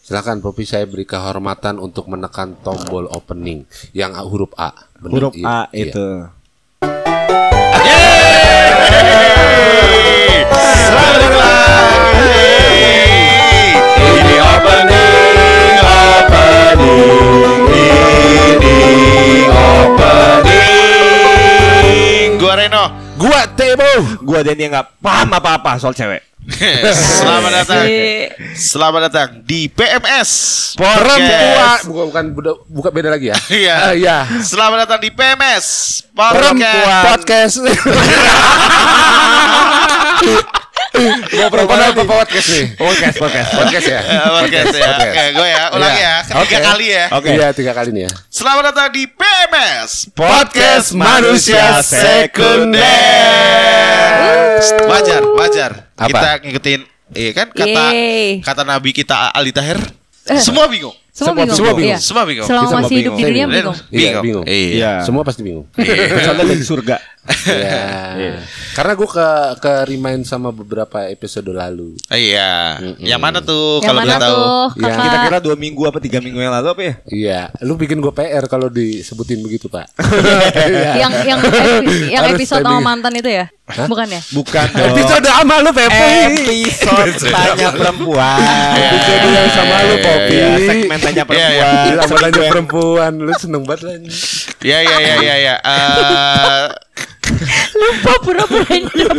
Silakan Poppy, saya beri kehormatan untuk menekan tombol opening yang huruf A. Benar? Huruf A itu. Selamat lagi. Ini opening. Gua Reno, Gua Tebo. Gua Denny yang nggak paham apa-apa soal cewek. Selamat datang di PMS Perempuan. Bukan beda lagi ya. Iya. Iya. Selamat datang di PMS Perempuan Podcast. Mau perempuan apa podcast nih? Podcast ya. Podcast ya. Oke, gue ya. Ulangi ya. Ketiga kali ya. Oke. Iya, 3 kali nih ya. Selamat datang di PMS Podcast Manusia Sekunder. Wajar. Apa? Kita ngikutin kan kata Nabi kita Ali Tahir. Semua bingung. Semua bingung. Iya. Semua bingung. Selama masih hidup di dunia Bingung. bingung. Bingung. Iya. Semua pasti bingung. Soalnya dari surga. Iya. Karena gue ke remind sama beberapa episode lalu. Iya. Yang mana tuh Yang kalau mana boleh tahu? tuh Iya. kakak? Kita kira 2 minggu apa 3 minggu yang lalu apa ya? Iya, lu bikin gue PR kalau disebutin begitu, Pak. yang Harus episode sama timing. mantan itu ya? Bukan ya? Bukan dong. Episode sama lu, Pepe. Episode tanya perempuan. Episode yang sama lu, Poppy. Iya, segmen tanya perempuan. Iya, sama tanya perempuan. Lu seneng banget lah ini. Iya. Lupa pura-pura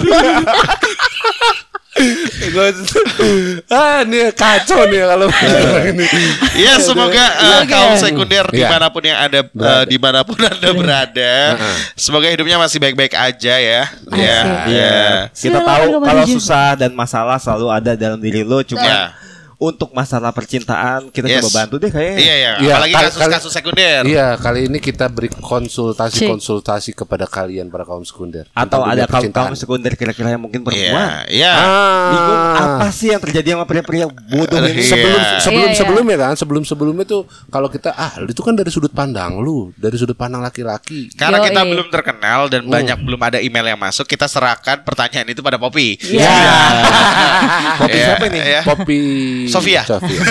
Nih kacau nih kalau ini. Ya semoga kaum sekunder Iya. dimanapun yang ada dimanapun anda berada, semoga hidupnya masih baik-baik aja ya. Asik. Iya. Kita Silakan tahu kembali, kalau Jun. susah dan masalah selalu ada dalam diri lo. Cuma Iya. untuk masalah percintaan kita Yes. coba bantu deh kayaknya. Iya. Iya, Apalagi kasus-kasus sekunder. Iya, kali ini kita beri konsultasi kepada kalian para kaum sekunder. Atau Tentang ada dunia percintaan. kaum sekunder kira-kira yang mungkin perempuan. Iya. Bingung apa sih yang terjadi sama pria-pria bodoh ini? Iya. Sebelumnya kan, sebelumnya tuh kalau kita itu kan dari sudut pandang lu, dari sudut pandang laki-laki. Karena kita Yoi. belum terkenal dan belum ada email yang masuk, kita serahkan pertanyaan itu pada Poppy. Iya. Poppy Iya, siapa ini? iya. Poppy Sofia.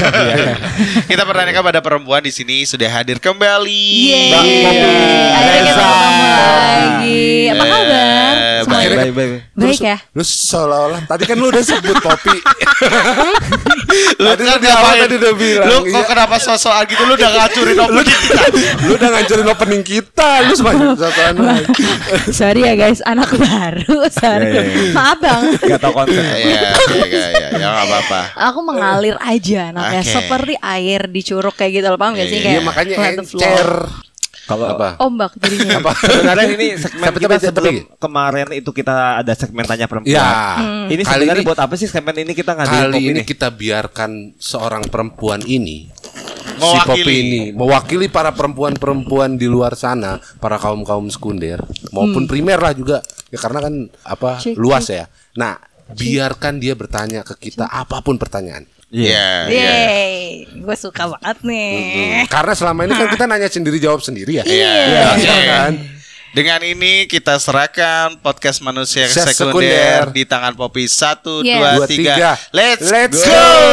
Kita pertanyakan pada perempuan di sini sudah hadir kembali. Yeay. Bang Poppy. Akhirnya kita Reza. ketemu lagi. Apa kabar? Semuanya Baik. baik ya? Lu seolah-olah tadi kan lu udah sebut Poppy. Lu Tadi kan di awal ngapain? tadi udah bilang, Lu kok iya. kenapa sosokan gitu? Lu udah ngacurin opening kita. Lu udah ngancurin opening kita. Lu sebanyak satuan lagi. Sorry ya guys, anak baru. Sorry. Iya. Maaf bang. Gak tau konsep. Iya, ya nggak apa-apa. Aku mengalir aja anaknya Oke. seperti air di curug kayak gitu loh, paham gak sih? Iya, Kayak makanya let the flow. encer. Kalau Apa? Ombak jadinya. sebenarnya ini segmen Tapi kita tapi- sebelum kemarin itu kita ada segmen tanya perempuan. Ya. Ini Kali sebenarnya ini- buat apa sih segmen ini kita ngadain Kali Poppy ini nih? kita biarkan seorang perempuan ini si Mewakili. Poppy ini mewakili para perempuan-perempuan di luar sana, para kaum-kaum sekunder maupun primer lah juga. Ya karena kan Cik, luas ya. Nah, biarkan dia bertanya ke kita apapun pertanyaan. Iya. Yeay, gue suka banget nih. Karena selama ini kan kita nanya sendiri jawab sendiri ya. Iya. Iya kan? Dengan ini kita serahkan podcast manusia Sekunder. sekunder di tangan Poppy 1, Yes. 2, 3. Let's go.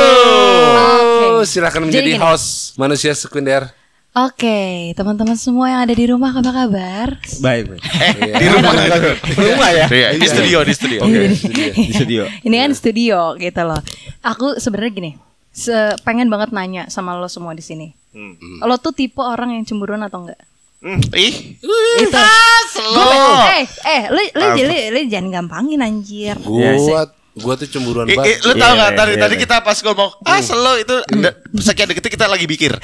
Oke. Silakan Jadi menjadi gini. host manusia sekunder. Oke, teman-teman semua yang ada di rumah apa kabar? Baik. Di rumah. Rumah ya? Iya, di studio. Di studio. Ini kan studio gitu loh. Aku sebenarnya gini, pengen banget nanya sama lo semua di sini. Lo tuh tipe orang yang cemburuan atau enggak? Ih. Itu. Slow. Lu jangan gampangin anjir. Gua tuh cemburuan Lu banget. tahu nggak Iya, tadi iya. kita pas ngomong slow itu sekian detik kita lagi mikir.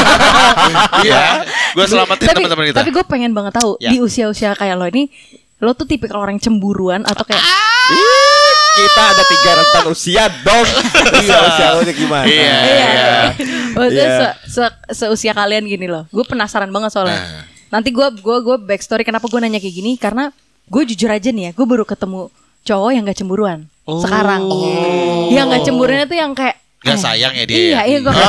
Iya. Gue selamatin teman-teman kita. Tapi gue pengen banget tahu Ya. di usia-usia kayak lo ini, lo tuh tipikal orang yang cemburuan atau kayak Kita ada 3 rentan usia dong. Usia lo gimana? Iya. Maksudnya Iya. seusia kalian gini loh. Gue penasaran banget soalnya. Nanti gue backstory kenapa gue nanya kayak gini, karena gue jujur aja nih ya, gue baru ketemu cowok yang gak cemburuan sekarang. Yang gak cemburuannya tuh yang kayak Gak sayang ya dia. Iya gue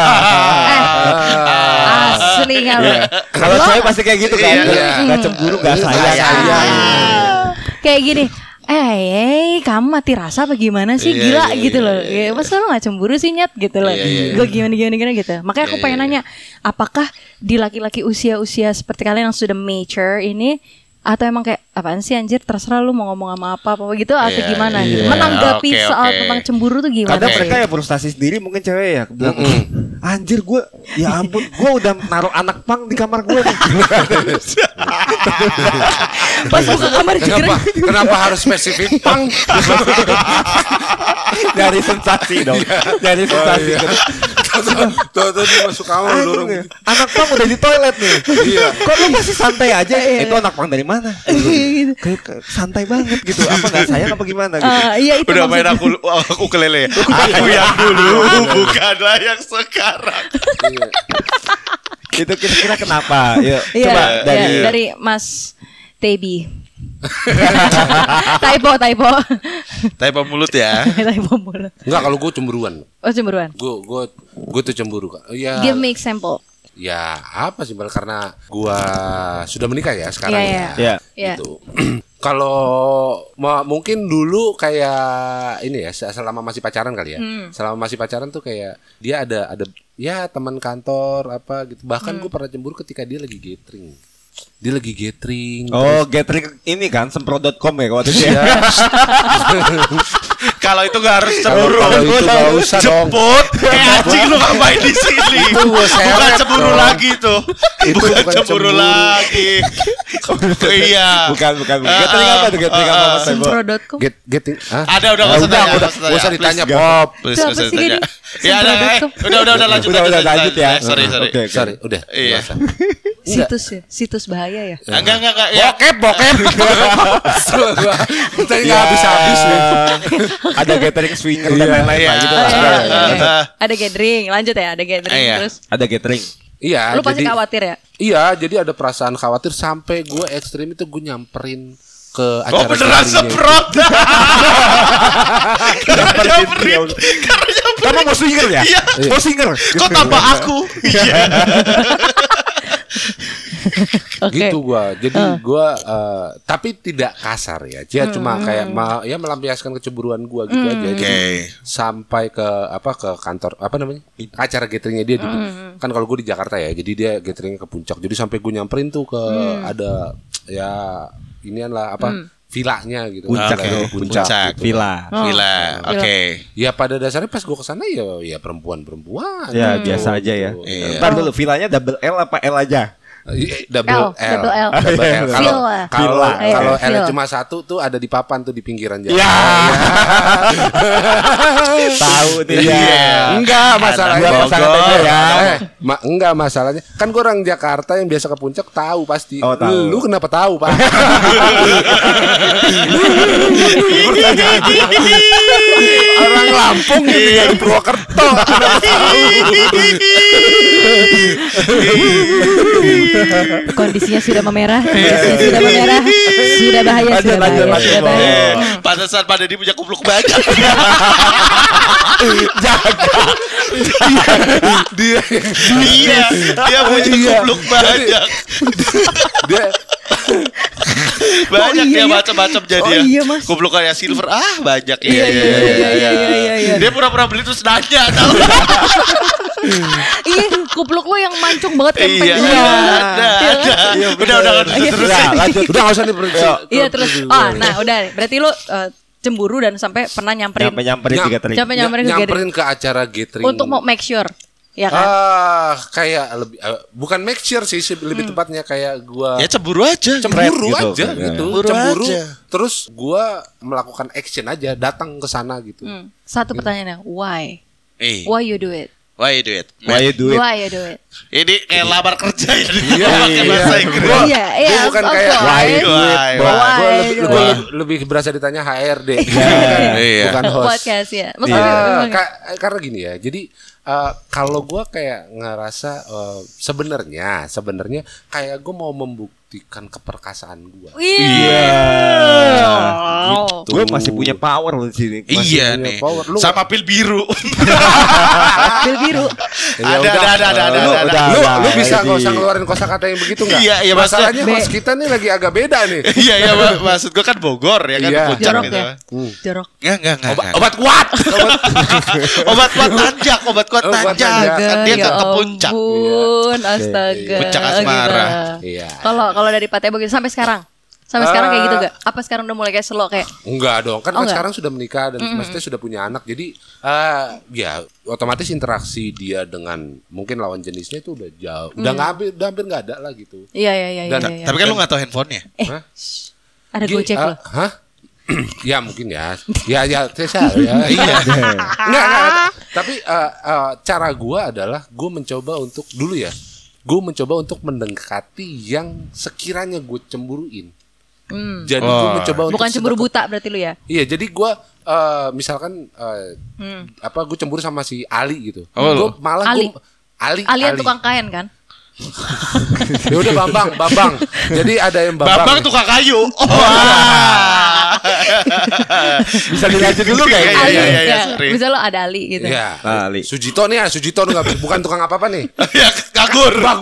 asli nggak lo. Kalau cewek pasti kayak gitu kan. Iya. Gak cemburu, gak sayang. Kayak gini, kamu mati rasa apa gimana sih, gila gitu loh. Ya, masa lu gak cemburu sih Nyet gitu loh. Gue gimana gitu. Makanya aku pengen nanya, apakah di laki-laki usia-usia seperti kalian yang sudah mature ini, atau emang kayak apaan sih anjir, terserah lu mau ngomong sama apa gitu, atau gimana gitu. Menanggapi soal tentang cemburu tuh gimana? Kadang mereka ya frustasi sendiri mungkin cewek ya bilang, anjir gue, ya ampun, gue udah naruh anak pang di kamar gue nih. Pas buka kamar Kenapa harus spesifik pang? Dari sensasi dong. Dari sensasi. Tuh dia masuk kamar dorong. Anak pang udah di toilet nih. Iya. Kok lu masih santai aja? Itu anak pang dari mana? Kayak santai banget gitu. Apa nggak sayang apa gimana gitu? Iya itu Udah main maksudnya. aku kelele. Aku yang dulu bukanlah yang sekarang. Itu kira-kira kenapa? Yuk, Iya, coba dari Mas Tebi. Typo. Typo mulut ya. Typo mulut. Enggak, kalau gue cemburuan. Oh cemburuan. Gue tuh cemburu Kak. Ya. Give me example. Ya apa sih Bal, karena gua sudah menikah ya sekarang Iya. gitu. Kalau mungkin dulu kayak ini ya, selama masih pacaran kali ya. Selama masih pacaran tuh kayak dia ada ya teman kantor apa gitu. Bahkan gue pernah cemburu ketika dia lagi gathering. Oh, gathering ini kan semprot.com ya waktu itu ya. Kalau itu gak harus cemburu. Kalau itu gak usah dong. Jemput. Anjing lu ngapain di sini? Itu gua Bukan seret cemburu dong. lagi tuh. Itu Bukan bukan cemburu cemburu. lagi. Iya. Bukan. Gathering apa tuh? Gathering apa Mas Tebo? Sempro.com. Getting Ada udah nggak usah tanya. Gak usah ditanya Please, Pop. Please, Itu nggak apa usah sih, ditanya. Gini? Ya udah lanjut. Udah lanjut ya. Sorry. Oke. Sorry, udah. Iya. Nggak usah. Situs ya, situs bahaya ya. Enggak. Ya. Bokep. Kita nggak habis-habis nih. Ada gathering swinger dan lain-lain Iya. lah gitu. Ada gathering, lanjut ya, ada gathering Iya. terus. Ada gathering. Iya. Lu pasti khawatir ya? Iya, jadi ada perasaan khawatir sampai gue ekstrim itu gue nyamperin ke Oh acara beneran gatheringnya itu. semprot. Nyamperin. Karena nyamperin. Kamu mau swinger ya? Iya. Mau swinger? Kok tambah aku? Iya. Oke. Gitu gua. Jadi gua tapi tidak kasar ya. Dia cuma kayak melampiaskan kecemburuan gua gitu aja. Jadi sampai ke kantor apa namanya? Acara gatheringnya dia di kan kalau gua di Jakarta ya. Jadi dia gatheringnya ke Puncak. Jadi sampai gua nyamperin tuh ke ada ya inian lah villanya gitu. Puncak ya. Puncak. Gitu. Villa. Oke. Ya pada dasarnya pas gua kesana ya perempuan-perempuan. Ya biasa aja ya. Iya. Ntar dulu villanya double L apa L aja? Double L. Double L. Kalau Villa. L Villa. cuma satu tuh ada di papan tuh di pinggiran jalan. Ya. Tahu nih Iya. ya. Enggak masalahnya Gua pasangan aja ya. enggak masalahnya. Kan gue orang Jakarta yang biasa ke Puncak tahu pasti. Oh, tahu. Lu kenapa tahu, Pak? Orang Lampung gitu ya di Purwokerto. Kenapa tahu? Kondisinya sudah memerah, sudah bahaya, sudah bahaya. Pantesan pada dia punya kupluk banyak. Dia Dia punya kupluk banyak. dia Banyak iya, dia iya. macam-macam jadi Oh, ya. iya, Mas. Kupluk kayak silver banyak ya. Iya. Dia pura-pura beli terus nanya tahu. Iya, kupluk lu yang mancung banget Iya, kempeng. ada. Udah terus. Ya, lanjut. udah enggak usah diperiksa. Iya terus. Nah udah. Berarti lu cemburu dan sampai pernah nyamperin Nyamperin di gathering. nyamperin ke Nyamperin ke acara gathering. untuk mau make sure, ya kan? Kayak lebih bukan make sure sih lebih tepatnya kayak gua Ya cemburu aja. cemburu gitu. aja Ya. gitu. Cemburu Cemburu aja. terus gua melakukan action aja, datang ke sana gitu. Satu pertanyaannya, why? Eh, Why you do it? why you do it? Why you do it? Why you do it? Ini kayak lamar kerja ya. Iya, Pakai bahasa Inggris. Iya, Gua bukan of kayak course. why you do it? Why? Gua lebih berasa ditanya HRD. Iya. Bukan host. Podcast ya. Maksudnya Karena gini ya. Jadi kalau gua kayak ngerasa sebenarnya kayak gua mau membuktikan keperkasaan gua. Wow. Gue masih punya power loh di sini. Iya punya nih. power. Lu Sama pil biru. Pil biru. Ya Ada. Lu bisa nggak usah ngeluarin kosakata yang begitu nggak? Iya, Masalahnya host kita nih lagi agak beda nih. Iya, maksud gue kan Bogor ya kan, Iya. Puncak Jorok gitu. ya. Jorok. Enggak. Obat kuat. Obat kuat tanjak. Obat Kan tanjak. dia Ya ke puncak. ampun, astaga. Puncak asmara. Iya. Kalau dari Pak Tebo gitu sampai sekarang. Sampai sekarang kayak gitu gak? Apa sekarang udah mulai kayak slow kayak? Enggak dong, kan Oh, enggak? sekarang sudah menikah dan maksudnya sudah punya anak. Jadi ya otomatis interaksi dia dengan mungkin lawan jenisnya itu udah jauh. Udah hampir nggak ada lah gitu. Iya. Dan- Tapi kan lu enggak tahu handphonenya. Hah? Ada Gojek loh. Hah? Ya mungkin ya. Ya Tessa ya. Iya. Enggak. Tapi cara gua adalah gua mencoba untuk dulu ya. Gue mencoba untuk mendekati yang sekiranya gue cemburuin. Jadi gue mencoba untuk Bukan cemburu buta berarti lu ya? Iya, jadi gue misalkan gue cemburu sama si Ali gitu. Oh, Gue lo. malah Ali. Ali. Alian tukang kain kan? Ya udah Bambang. Jadi ada yang Bambang tukang kayu. Bisa dilanjut dulu gak ya? Ali, Iya, ya. sorry. Bisa lo ada Ali gitu. Ya, Ali. Sujito nih ya, Sujito nggak bukan tukang apa-apa nih. Ya nganggur. Mbak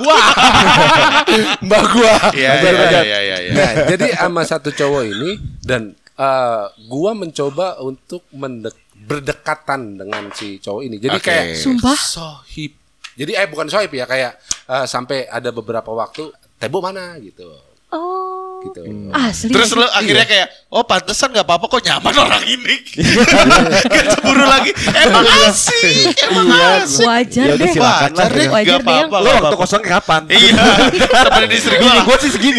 gua. Iya. Nah, jadi sama satu cowok ini dan gua mencoba untuk berdekatan dengan si cowok ini. Jadi Oke. kayak Sumpah? sohib. Jadi bukan sohib ya, kayak sampai ada beberapa waktu Tebo mana gitu. Oh. Gitu. Asli. Terus lu akhirnya kayak, oh pantesan gak apa-apa kok nyaman orang ini. Gak cemburu lagi. Emang asik. Wajar Ya udah, deh. silakan lah. Wajar deh. Wajar Gak deh, apa-apa. Lo waktu kosong kapan? Iya. Temenin istri gue lah. Gue sih segini.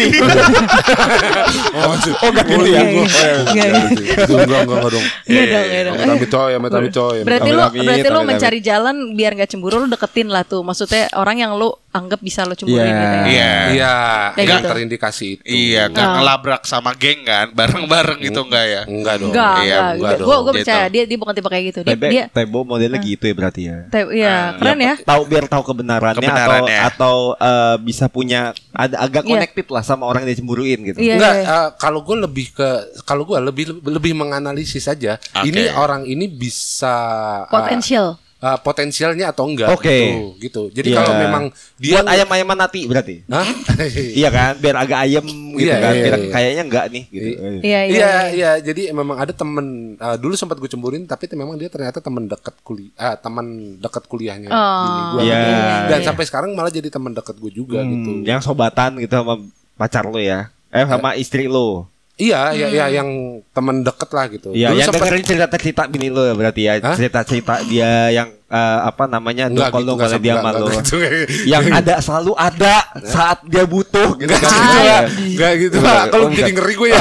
Oh enggak gitu ya? Enggak dong. Iya dong. Amit coy. Berarti Amit-amit, lu amit-amit. mencari jalan biar nggak cemburu, lu deketin lah tuh. Maksudnya orang yang lu anggap bisa lu cemburuin Iya. gitu ya. Iya. Iya, Kayak yang gitu. terindikasi itu. Iya, gak ngelabrak sama geng kan, bareng-bareng gitu enggak ya? Enggak dong. Iya, enggak dong. Gue Dia percaya tahu. dia bukan tipe kayak gitu. Dia Tebo modelnya gitu ya berarti ya. iya, keren ya. Biar tahu kebenarannya, Kebenarannya. atau bisa punya agak Iya. connected lah sama orang yang dia cemburuin gitu. Iya. Enggak, kalau gue lebih menganalisis saja. Oke. Ini orang ini bisa Potensial. potensialnya atau enggak Oke. gitu. Jadi Iya. kalau memang dia Buat ayam-ayaman nanti berarti. Hah? Iya kan, biar agak ayam gitu Iya, kan. iya, Biar iya. kayaknya enggak nih gitu. Iya. Iya, jadi memang ada temen dulu sempat gue cemburin, tapi memang dia ternyata teman dekat kuliahnya bini gue. Iya. Dan iya. sampai sekarang malah jadi teman dekat gue juga gitu. Yang sobatan gitu sama pacar lo ya. Sama istri lo. Iya, yang teman dekat lah gitu. Iya, Dulu yang sempet- dengerin cerita-cerita bini lo ya berarti ya. Hah? Cerita-cerita dia yang Enggak gitu, dongkol enggak dia enggak, sama lo. enggak gitu. Yang ada selalu ada saat dia butuh gitu Enggak kan. gitu lah. Enggak gitu lah. Kalau Oh, jadi enggak. ngeri gue ya.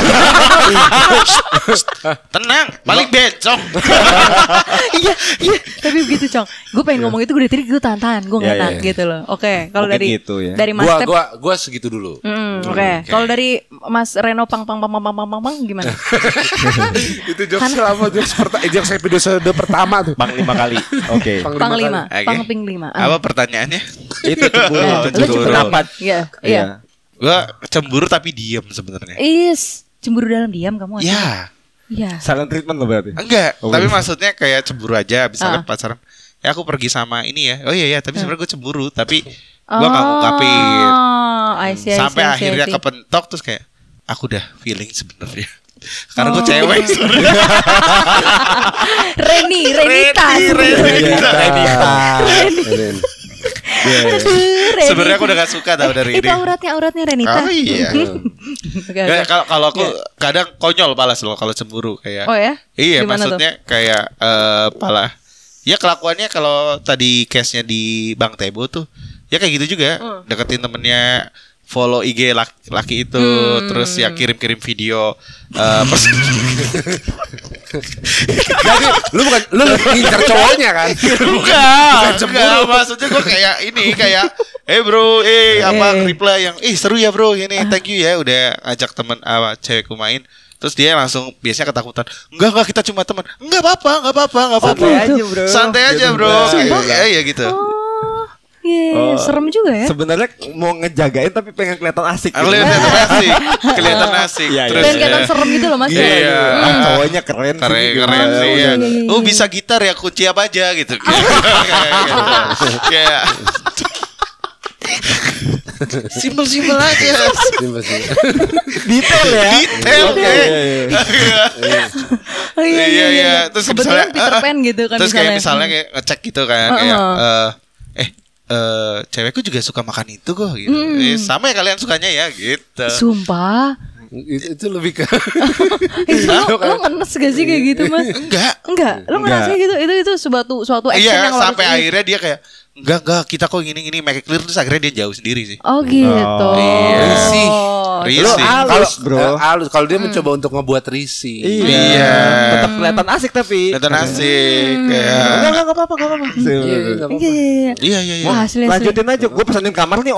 Tenang, balik bencong. Iya. Tapi begitu, Cong. Gue pengen ngomong itu gue dari tadi gue tahan-tahan, gue nggak Iya, tahan iya. gitu loh. Oke, kalau Mungkin dari gitu ya. dari Mas Tep. Gua segitu dulu. Oke. Kalau dari Mas Reno pang gimana? Itu jokes selama jokes episode pertama tuh. Bang 5 kali. Oke. Pang 5, Oke. pang ping 5. Apa pertanyaannya? Itu cemburu. Lu cemburu. Pendapat. Iya. Iya. Gue cemburu tapi diem sebenarnya. Cemburu dalam diam kamu. Ya, Iya. Silent treatment lo berarti. enggak. Oh, Tapi iya. maksudnya kayak cemburu aja. Misalnya pacaran, ya aku pergi sama ini ya. Oh iya, tapi sebenarnya gue cemburu. Tapi gue gak ngungkapin. I see. Sampai akhirnya kepentok terus kayak, aku udah feeling sebenarnya. Karena gue cewek sebenarnya. Renita. Sebenarnya aku udah gak suka tau dari Itu ini. auratnya Renita. Oh iya. Oke, Ya, oke. kalau aku kadang konyol balas loh kalau cemburu kayak. Oh ya? Iya, Gimana maksudnya kayak pala. Ya kelakuannya kalau tadi case-nya di Bang Tebo tuh, ya kayak gitu juga. Deketin temennya, follow IG laki itu, terus ya kirim-kirim video. Jadi lu ngincar cowoknya kan? Bukan, maksudnya gue kayak ini kayak, bro, reply yang, seru ya bro, ini thank you ya udah ajak temen cewekku main. Terus dia langsung biasanya ketakutan. Enggak kita cuma teman. Enggak apa-apa. Santai aja, bro. Santai aja, bro. Sumpah? Iya gitu. Oh, Serem juga ya. Sebenarnya mau ngejagain tapi pengen kelihatan asik. Kelihatan asik. Terus kelihatan serem gitu loh Mas. Iya. Cowoknya keren sih. Iya. Oh bisa gitar ya, kunci apa aja gitu. Kayak simpel aja. Detail ya. Iya. Terus kebetulan Peter Pan gitu kan. Terus kayak misalnya kayak ngecek gitu kan, kayak cewekku juga suka makan itu kok gitu. Sama ya kalian sukanya ya gitu. Sumpah. Itu lebih ke Lo ngenes gak sih kayak gitu Mas? Enggak. Lo ngerasa gitu. Itu suatu action yang lo sampai akhirnya dia kayak enggak kita kok gini make it clear, terus akhirnya dia jauh sendiri sih. Oh gitu. Risih. Halus bro. Halus kalau dia mencoba untuk ngebuat risih. Iya. Tetap kelihatan asik tapi. Kelihatan asik. Kayak Enggak apa-apa. Iya. Wah, asli. Lanjutin aja. Gue pesanin kamar nih.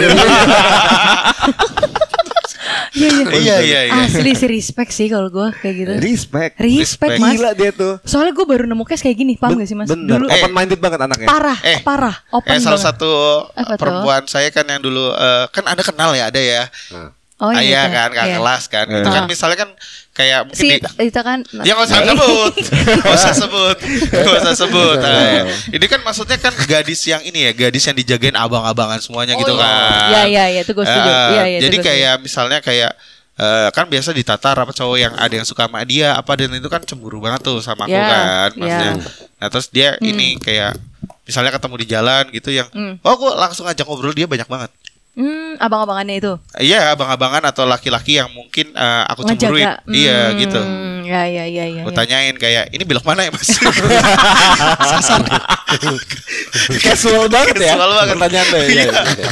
Iya. Asli sih respect sih kalau gue kayak gitu. Respect Mas. Gila dia tuh. Soalnya gue baru nemu case kayak gini, paham gak sih Mas? Bener. Dulu Open minded banget anaknya. Parah. Open salah banget. satu perempuan saya kan yang dulu kan ada kenal ya, ada ya. Oh iya kan, kakak kelas kan. Itu kan misalnya kan kayak mungkin itu kan. Ya nggak usah sebut. Nah, ini kan maksudnya kan gadis yang ini ya, gadis yang dijagain abang-abangan semuanya gitu kan. Iya, itu gue setuju. Jadi kayak misalnya kayak kan biasa ditata apa cowok yang ada yang suka sama dia apa, dan itu kan cemburu banget tuh sama aku kan maksudnya. Nah terus dia ini kayak misalnya ketemu di jalan gitu yang aku langsung ajak ngobrol, dia banyak banget. Abang-abangannya itu. Iya, abang-abangan atau laki-laki yang mungkin aku cemburuin. Iya, gitu. Iya. Gue tanyain kayak, ini belok mana ya Mas? Sasar. Casual banget ya. Casual banget. Pertanyaan lo ya.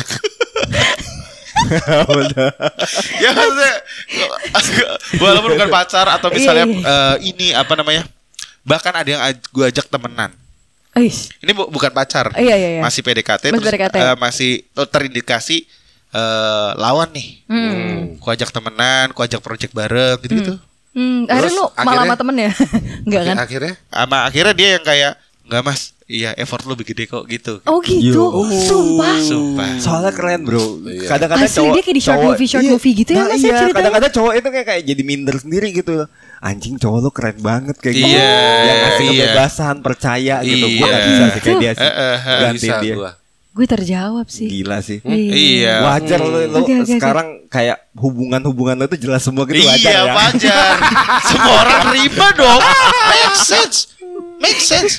Ya maksudnya walaupun bukan pacar atau misalnya ini apa namanya, bahkan ada yang gue ajak temenan. Ini bukan pacar, masih PDKT, masih terindikasi lawan nih. Ku ajak temenan, ku ajak project bareng gitu-gitu. Akhirnya lu malah sama temen ya? Enggak kan? Akhirnya dia yang kayak, enggak Mas, iya effort lu lebih gede kok gitu. Oh gitu. Sumpah. Soalnya keren bro. Kadang-kadang asli cowok, dia kayak di short movie gitu ya Mas ya ceritanya. Kadang-kadang cowok itu kayak jadi minder sendiri gitu. Anjing cowok lu keren banget kayak gitu. Yang ngasih kebebasan, percaya gitu. Gue gak bisa sih kayak dia sih. Gantiin dia. Gue terjawab sih. Gila sih. Iya. Wajar lo sekarang kayak hubungan lo itu jelas semua gitu, wajar ya. Iya wajar. Semua orang terima dong. Make sense.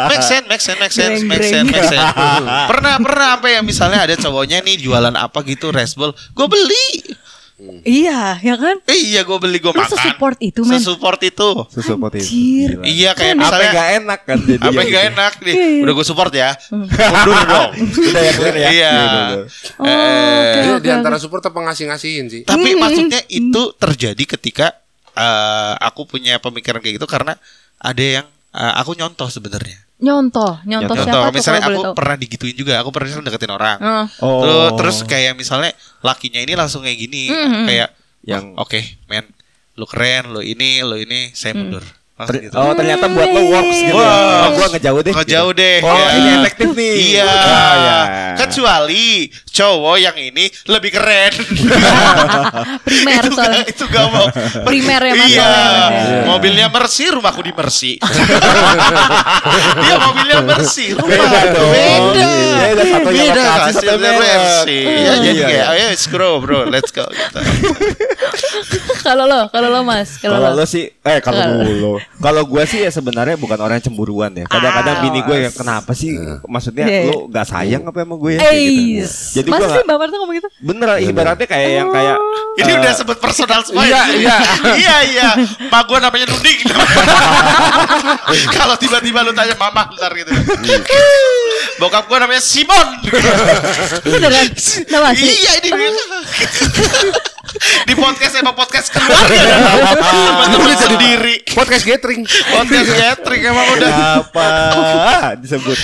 Pernah apa ya, misalnya ada cowoknya nih jualan apa gitu, Resbol, gue beli. Iya, ya kan? Iya, gue beli, gue makan. Sesupport itu, men. Sesupport itu. Anjir. Iya, kayak misalnya apa gak enak kan jadi. Apa gak enak nih. Udah gue support ya. Mundur dong. Udah ya clear ya. Iya. Di antara support apa ngasih-ngasihin sih. Tapi maksudnya itu terjadi ketika aku punya pemikiran kayak gitu karena ada yang aku nyontoh sebenarnya. Nyontoh siapa tuh? Misalnya aku pernah digituin juga. Aku pernah deketin orang. Terus kayak misalnya lakinya ini langsung kayak gini, kayak yang oke, men, lu keren, lu ini, saya mundur. Gitu. Oh ternyata buat lo works gitu. Gua ngejauh deh. Ini efektif nih. Iya. Kecuali cowok yang ini lebih keren. Primer soalnya. Itu gak mau. Primer ya masalahnya. Iya. Mobilnya Mercy, rumahku di Mercy. Dia mobilnya Mercy, rumah beda kasih Mercy. Ya jadi kayak ayo scroll bro, let's go gitu. Kalau lo Mas, kalau lo sih kalau gue sih ya sebenarnya bukan orang yang cemburuan ya. Kadang-kadang bini gue yang kenapa sih? Maksudnya lo gak sayang apa sama gue ya? Gitu. Jadi masa sih Mbak Marta ngomong gitu? Bener, ibaratnya kayak yang kayak ini udah sebut personal semua. Iya. Mak gue namanya Nuding. Kalau tiba-tiba lu tanya mama ntar gitu. Bokap gue namanya Simon. Beneran? Nama asli? Iya ini. Di podcast emang podcast keluarga. Temen-temen sendiri. Podcast gathering emang udah apa disebut.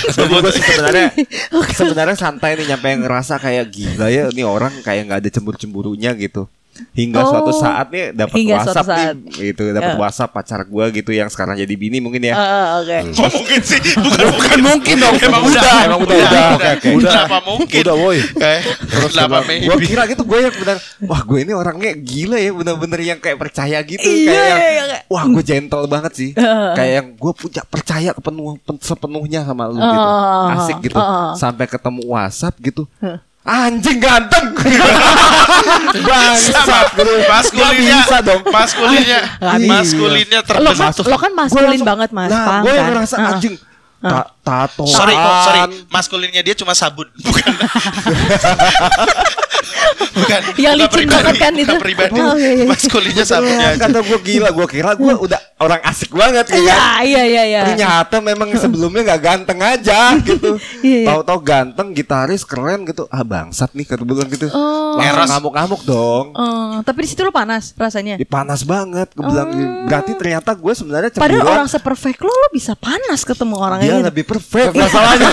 Sebenarnya santai nih, nyampe yang ngerasa kayak gila ya, ini orang kayak nggak ada cemburu-cemburunya gitu. Hingga suatu saat nih dapat WhatsApp saat. nih gitu, dapat WhatsApp pacar gua gitu yang sekarang jadi bini mungkin ya. Oke. Mungkin sih, bukan mungkin dong. Emang udah. Kenapa mungkin? Udah woi. Terus kenapa maybe? Gua kira gitu, gue yang benar, wah gue ini orangnya gila ya, bener-bener yang kayak percaya gitu, Iya, kayak yang, iya. wah gue gentle banget sih, kayak yang gue punya percaya sepenuhnya sama lu gitu, asik gitu, sampai ketemu WhatsApp gitu. Anjing ganteng. Bangsat gitu. Maskulinnya terbentuk. Lo kan maskulin banget Mas. Nah, gue yang ngerasa anjing. Tato. Sorry. Maskulinnya dia cuma sabun, bukan. Bukan. Yang licin banget kan itu. Pribadi. Iya. Maskulinnya sabunnya. Kata gue gila, gue kira gue udah orang asik banget kan. Iya. Ternyata memang sebelumnya gak ganteng aja gitu. Iya. Tahu-tahu ganteng, gitaris keren gitu. Ah bangsat nih kata bilang gitu. Eros. Ngamuk-ngamuk dong. Tapi di situ lo panas rasanya. Panas banget, gue bilang. Berarti ternyata gue sebenarnya Padahal cemburuan. orang seperfect lo bisa panas ketemu orang Dia gitu. lebih perfect masalahnya.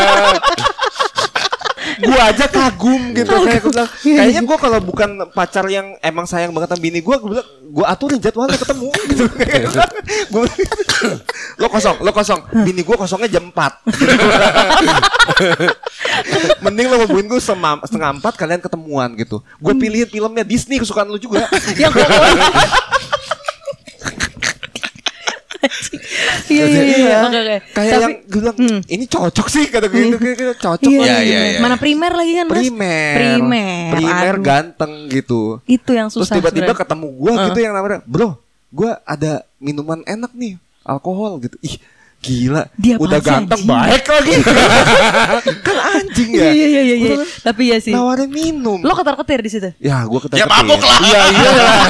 Gue aja kagum gitu, kayak gue bilang, kayaknya gue kalau bukan pacar yang emang sayang banget sama bini gue bilang gue aturin jadwalnya ketemu gitu. Lo kosong, bini gue kosongnya jam 4. Mending lo hubungin gue setengah 4 kalian ketemuan gitu. Gue pilihin filmnya Disney kesukaan lo juga. Yang Iya. Oke. Kayak yang gue bilang ini cocok sih kata gue gitu, cocok. Iya. Mana primer lagi kan Mas? Primer Aduh. ganteng gitu. Itu yang Terus susah. tiba-tiba sebenarnya. ketemu gue gitu yang namanya, bro, gue ada minuman enak nih, alkohol gitu. Ih gila, Dia udah apaan sih, ganteng anjing? baik lagi. Kan anjing ya. Iya. Tapi ya sih. Nawarin minum. Lo ketar-ketir di situ. Ya gue ketar-ketir. Ya mabuk lah. Iya.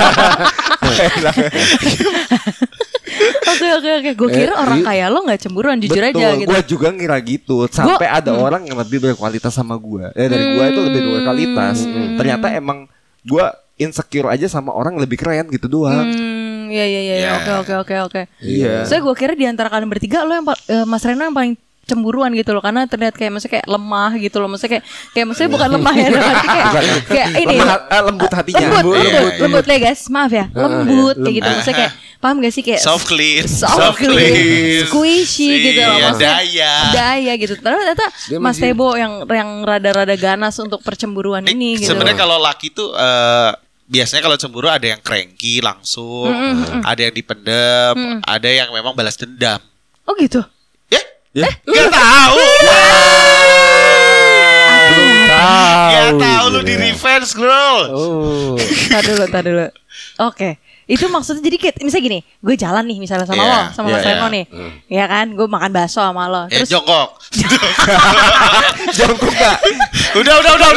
Oke. Gue kira orang kaya lo nggak cemburuan, jujur aja gitu. Gue juga ngira gitu. Sampai ada orang yang lebih berkualitas sama gue. Dari gue itu lebih berkualitas. Ternyata emang gue insecure aja sama orang lebih keren gitu doang. Iya. Oke. Iya. Saya gue kira di antara kalian bertiga lo yang Mas Reno yang paling cemburuan gitu loh, karena terlihat kayak maksudnya kayak lemah gitu loh, maksudnya kayak maksudnya bukan lemah ya, tapi kayak ini lembut hatinya. lembut ya guys, maaf ya, lembut kayak gitu, maksudnya kayak paham gak sih kayak Soft clean, squishy gitu loh, Iya, maksudnya daya gitu. Ternyata Mas Tebo yang rada-rada ganas untuk percemburuan ini gitu. Sebenarnya kalau laki tuh biasanya kalau cemburu ada yang cranky langsung, ada yang dipendem, ada yang memang balas dendam. Oh gitu. Gak tahu. Gak tahu lu di revenge girl. Tar dulu. Oke. Itu maksudnya jadi kayak misalnya gini, gue jalan nih misalnya sama lo, sama Mas Reno nih. Ya kan, gue makan bakso sama lo. Terus jongkok. Jongkok gak? Udah.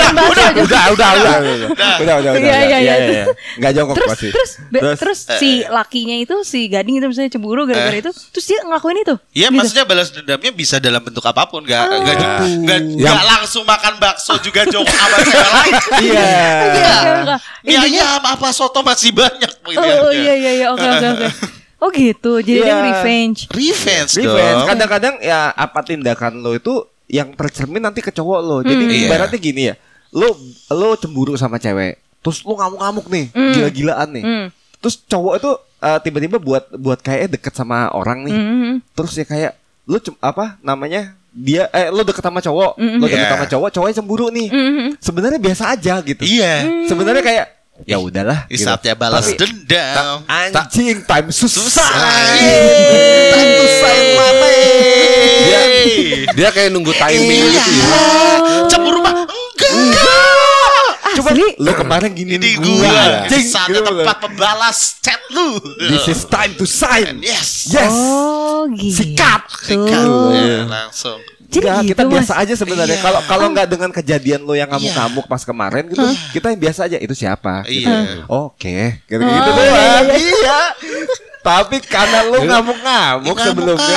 Iya. Gak jongkok pasti. Terus si lakinya itu, si gading itu misalnya cemburu gara-gara itu, terus dia ngelakuin itu. Iya, gitu. maksudnya balas dendamnya bisa dalam bentuk apapun, gak langsung makan bakso juga jongkok sama cewek lain. Iya. Mie ayam apa soto masih banyak gitu. Oh iya, oke. Oh gitu, jadi dia revenge dong. Kadang-kadang ya apa tindakan lo itu yang tercermin nanti ke cowok lo. Jadi ibaratnya gini ya, lo cemburu sama cewek, terus lo ngamuk-ngamuk nih, gila-gilaan nih. Terus cowok itu tiba-tiba buat kayak deket sama orang nih, terus ya kayak lo dia lo deket sama cowok, cowoknya cemburu nih. Sebenarnya biasa aja gitu. Iya. Sebenarnya kayak ya udahlah. Saatnya balas dendam. Anjing, time susah. Time to sign mama. Dia kayak nunggu timing gitu ya. Cemburu mah enggak. Coba lo kemarin gini gua. Saatnya tempat membalas chat lu. This is time to sign. Yes. Oh gitu. Sikat. Langsung. Jadi gitu, kita biasa Mas. aja sebenarnya. Kalau nggak dengan kejadian lo yang ngamuk-ngamuk pas kemarin gitu, kita yang biasa aja. Itu siapa? Iya. Oke, gitu doang. Iya. Tapi karena lo ngamuk-ngamuk sebelumnya,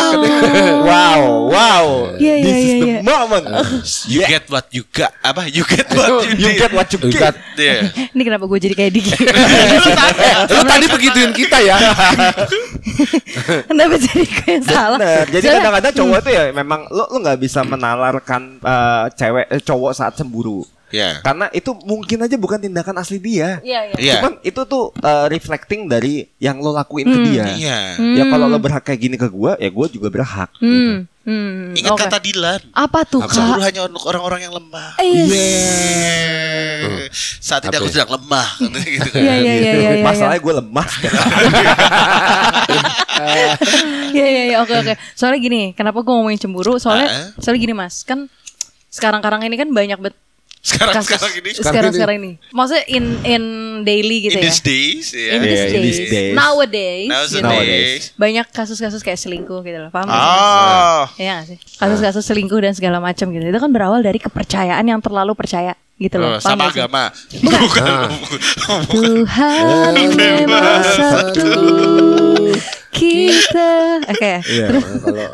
wow. This is the moment. You get what you got. Apa? You get what you get what you get. Ini kenapa gue jadi kayak Diki? Lu tadi begituin kita ya. Kenapa jadi kayak salah? Bener. Jadi kadang-kadang cowok itu ya memang lo nggak bisa menalarkan cowok saat cemburu. Karena itu mungkin aja bukan tindakan asli dia. Iya. Cuman itu tuh reflecting dari yang lo lakuin ke dia. Ya kalau lo berhak kayak gini ke gue, ya gue juga berhak. Gitu. Ingat kata Dilan. Apa tuh, Kak? Cemburu hanya untuk orang-orang yang lemah. Saat ini aku sedang lemah. Gitu kan. Iya. Masalahnya gue lemah. Iya. Oke. Soalnya gini, kenapa gue ngomongin cemburu? Soalnya gini Mas, kan sekarang ini kan banyak banget sekarang ini. Maksudnya in daily gitu in ya. These days. In these days. Nowadays. Banyak kasus-kasus kayak selingkuh gitu loh. Paham gak? Iya gak sih? Kasus-kasus selingkuh dan segala macam gitu. Itu kan berawal dari kepercayaan yang terlalu percaya gitu loh. Sama agama. Bukan. Tuhan memang satu. Kita terus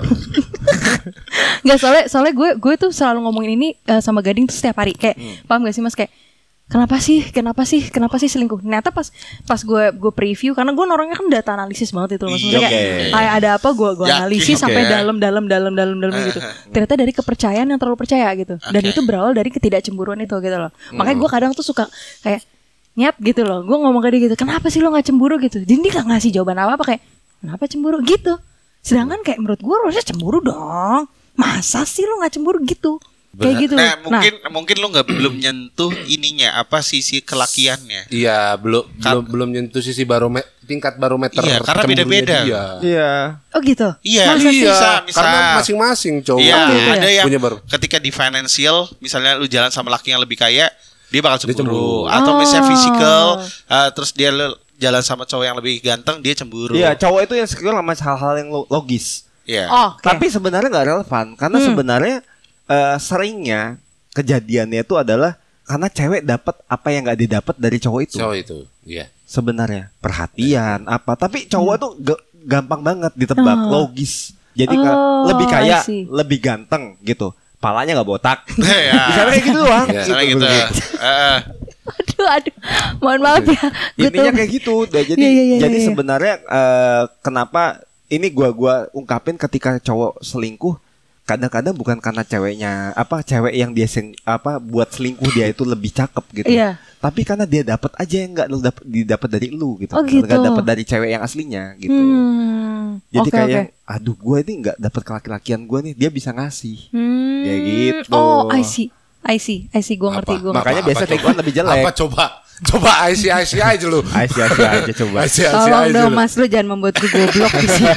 nggak soalnya gue tuh selalu ngomongin ini sama Gading tuh setiap hari kayak paham gak sih Mas kayak kenapa sih selingkuh. Ternyata pas gue preview karena gue orangnya kan data analisis banget itu Mas. Maksudnya kayak ada apa gue analisis sampai dalam gitu. Ternyata dari kepercayaan yang terlalu percaya gitu. Dan itu berawal dari ketidakcemburuan itu gitu loh. Makanya gue kadang tuh suka kayak nyet gitu loh. Gue ngomong ke dia gitu, kenapa sih lo gak cemburu gitu. Jadi dia gak ngasih jawaban apa-apa kayak kenapa cemburu gitu. Sedangkan kayak menurut gue harusnya cemburu dong. Masa sih lo gak cemburu gitu. Kayak gitu. Nah, mungkin lo belum nyentuh ininya apa sisi kelakiannya. Iya, belum nyentuh sisi tingkat barometer. Iya, karena beda-beda. Iya. Oh gitu. Iya, misal. Karena masing-masing cowok. Iya, ada yang punya ketika di financial, misalnya lu jalan sama laki yang lebih kaya, dia bakal cemburu. Atau misalnya physical, terus dia jalan sama cowok yang lebih ganteng, dia cemburu. Iya, cowok itu yang insecure sama hal-hal yang logis. Iya. Tapi sebenarnya nggak relevan karena sebenarnya seringnya kejadiannya itu adalah karena cewek dapat apa yang nggak didapat dari cowok itu. Iya. Sebenarnya perhatian apa, tapi cowok tuh gampang banget ditebak, logis. Jadi lebih kaya, lebih ganteng gitu. Palanya nggak botak. Misalnya kayak gitu doang. Misalnya gitu. Aduh, mohon maaf ya. Intinya kayak gitu. Jadi sebenarnya kenapa ini gua ungkapin ketika cowok selingkuh, kadang-kadang bukan karena cewek yang dia buat selingkuh dia itu lebih cakep gitu. Tapi karena dia dapat aja yang nggak didapat dari lu gitu. Nggak dapat dari cewek yang aslinya gitu. Jadi kayak aduh gue ini nggak dapat kelaki-lakian gue nih, dia bisa ngasih. Kayak gitu. Oh, I see. Gue ngerti. Makanya biasa take one lebih jelek. Apa coba IC aja lu. IC aja coba. Tolong dong Mas, lu jangan membuat gue goblok di sini.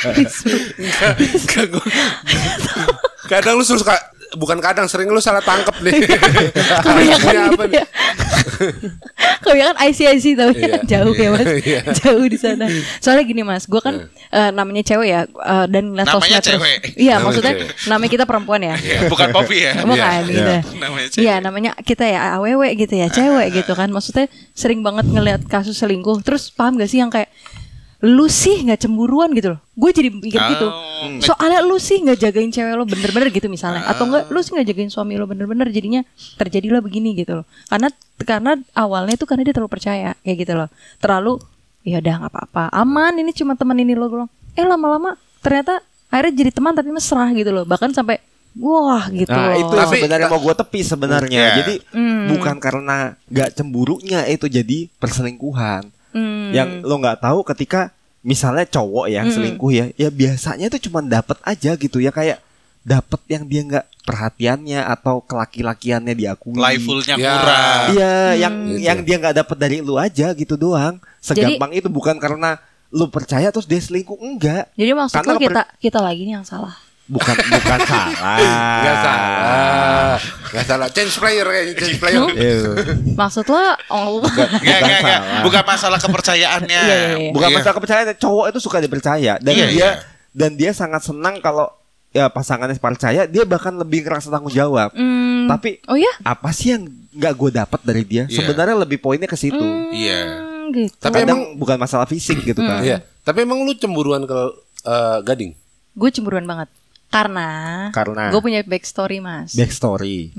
Kadang lu suka, bukan kadang, sering lu salah tangkep nih. Kebanyakan apa nih? Kebanyakan IC tapi jauh ya Mas. Jauh di sana. Soalnya gini Mas, gue kan namanya cewek ya, dan ngeliat namanya sosmed cewek. Iya, maksudnya namanya kita perempuan ya. Bukan Poppy ya. Bukan gitu. Iya, namanya kita ya AWW gitu ya, cewek gitu kan. Maksudnya sering banget ngeliat kasus selingkuh. Terus paham gak sih yang kayak lu sih nggak cemburuan gitu loh. Gue jadi mikir gitu. Soalnya lu sih nggak jagain cewek lo bener-bener gitu misalnya. Atau enggak lu sih nggak jagain suami lo bener-bener, jadinya terjadilah begini gitu loh. Karena awalnya itu karena dia terlalu percaya kayak gitu loh. Terlalu ya udah nggak apa-apa, aman, ini cuma teman ini lo. Lama-lama ternyata akhirnya jadi teman tapi mesra gitu loh. Bahkan sampai wah gitu. Nah itu sebenarnya mau gue tepi sebenarnya. Jadi bukan karena nggak cemburunya itu jadi perselingkuhan. Yang lo nggak tahu ketika misalnya cowok yang selingkuh ya biasanya itu cuma dapat aja gitu ya, kayak dapat yang dia nggak perhatiannya atau kelaki-lakiannya diakui, playfulnya kurang. Iya, yang dia nggak dapat dari lu aja gitu doang. Segampang itu, bukan karena lu percaya terus dia selingkuh, enggak. Jadi maksud lu kita lagi nih yang salah. Bukan salah. Gak salah. Change player. Maksud lo bukan masalah kepercayaannya. Bukan masalah kepercayaan. Cowok itu suka dipercaya dan dia sangat senang kalau ya pasangannya percaya, dia bahkan lebih ngerasa tanggung jawab. Tapi apa sih yang nggak gue dapat dari dia? Sebenarnya lebih poinnya ke situ. Gitu. Tapi emang bukan masalah fisik gitu kan. Tapi emang lu cemburuan ke Gading? Gue cemburuan banget. Karena gue punya backstory Mas. Backstory.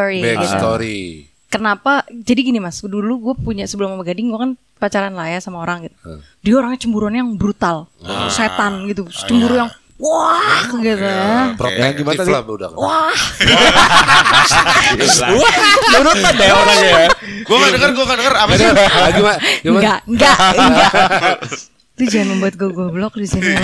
Kenapa? Jadi gini Mas, dulu gue punya sebelum sama Gading gue kan pacaran lah ya sama orang gitu. Dia orangnya cemburuannya yang brutal, setan gitu, cemburu yang wah gitu ya. Yang gimana tadi? Wah. Nurutan deh orangnya ya. Gue gak denger apa sih? Enggak. Itu jangan membuat gue goblok di sini.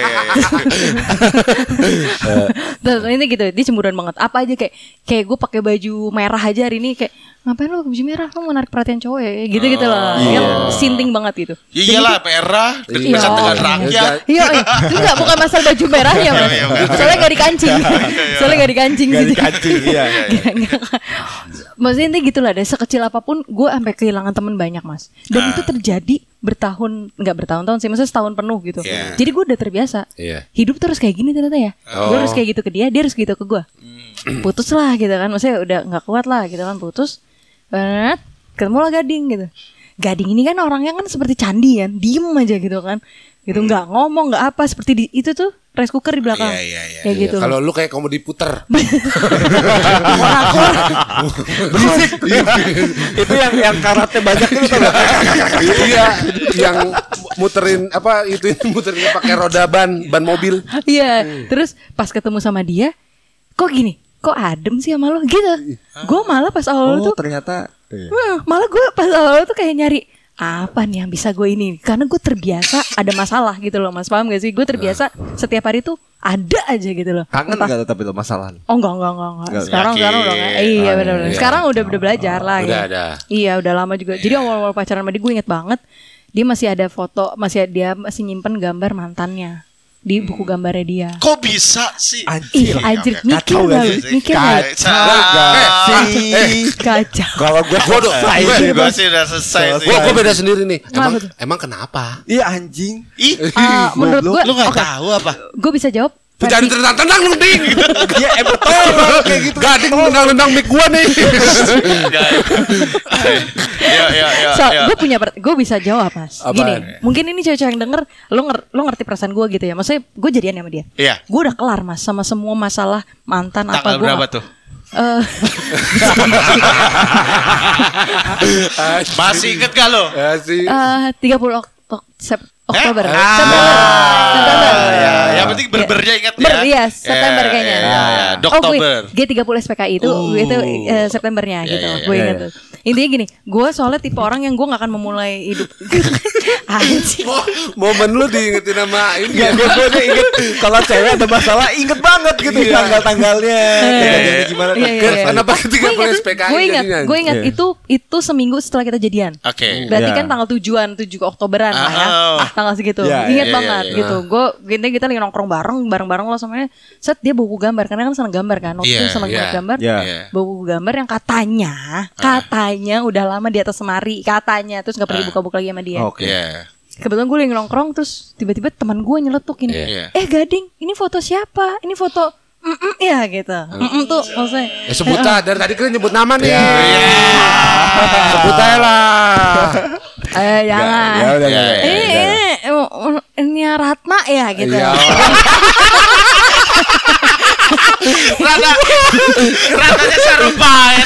Terus ini gitu, dia cemburuan banget. Apa aja kayak gue pakai baju merah aja hari ini kayak ngapain lo baju merah, lo menarik perhatian cowok ya, gitu loh. Yang sinting banget gitu. Ya iyalah merah dekat dengan rakyat. Iya, enggak bukan masalah baju merah ya mas. Soalnya gak dikancing. Gak dikancing. Iya. Maksudnya intinya gitu lah, dari sekecil apapun gue sampai kehilangan teman banyak mas. Dan itu terjadi nggak bertahun-tahun sih, maksudnya setahun penuh gitu. Jadi gue udah terbiasa. Hidup terus kayak gini ternyata ya. Gue harus kayak gitu ke dia harus gitu ke gue. Putus lah gitu kan, maksudnya udah nggak kuat lah gitu kan, putus. Ketemu lah Gading gitu. Gading ini kan orangnya kan seperti candi kan, diem aja gitu kan, gitu nggak ngomong nggak apa, seperti itu tuh rice cooker di belakang. Kayak gitu. Kalau lu kayak komedi puter. Berisik. Itu yang karate banyak itu tau gak? Iya, yang muterin pakai roda ban mobil. Iya, terus pas ketemu sama dia, kok gini? Kok adem sih sama lo gitu. Gue malah pas awal tuh ternyata malah gue pas awal tuh kayak nyari apa nih yang bisa gue ini, karena gue terbiasa ada masalah gitu loh mas, paham gak sih? Gue terbiasa setiap hari tuh ada aja gitu loh. Kangen gak tapi lo masalah? Oh enggak. Sekarang udah enggak. Iya benar. Sekarang udah belajar lah. Udah ya. ada. Iya udah lama juga. Jadi awal-awal pacaran sama dia gue inget banget, dia masih ada foto, dia masih nyimpen gambar mantannya di buku gambarnya dia. Kok bisa sih? Anjir, mikir Kacau. Kalau gue sih udah selesai sih. Gue beda sendiri nih. Emang kenapa? Iya anjing. Menurut gue, lu nggak tahu apa? Gue bisa jawab. Jangan tendang lu ding. Iya betul kayak gitu. Gading tendang mic gua nih. Ya. Gue bisa jawab mas. Gini, mungkin ini cewek-cewek yang denger, lo ngerti perasaan gue gitu ya. Maksudnya gue jadian sama dia. Iya. Gue udah kelar mas sama semua masalah mantan. Tanggal apa gue. Berapa tuh? Masih inget gak lo? 30 Oktober. September. Yang penting berbernya ingat ya. Iya, September kayaknya. Oktober. G30 SPKI itu Septembernya gitu. Gue ingat tuh. Intinya gini, gue soalnya tipe orang yang gue gak akan memulai hidup. Momen lu diingetin sama ini. Ya gue inget kalau cewek ada masalah inget banget gitu tanggal-tanggalnya. Gimana? Kenapa ketika SPKI? Gue ingat itu seminggu setelah kita jadian. Oke. Berarti kan tanggal 7 Oktoberan lah ya. Tanggal segitu. Ingat banget gitu. Gue kita lagi nongkrong bareng lo sama set dia buku gambar karena kan seneng gambar kan. Waktu itu seneng banget gambar. Buku gambar yang katanya udah lama di atas lemari katanya, terus nggak pergi buka-buka lagi sama dia. Kebetulan gue lagi nongkrong terus tiba-tiba teman gue nyeletuk ini, Gading, ini foto siapa? Ini foto ya gitu. Tuh maksudnya. Sebut aja dari tadi kan nyebut nama nih. Sebut aja lah. Jangan. Ini Ratna ya gitu. Ratanya Sarumpait.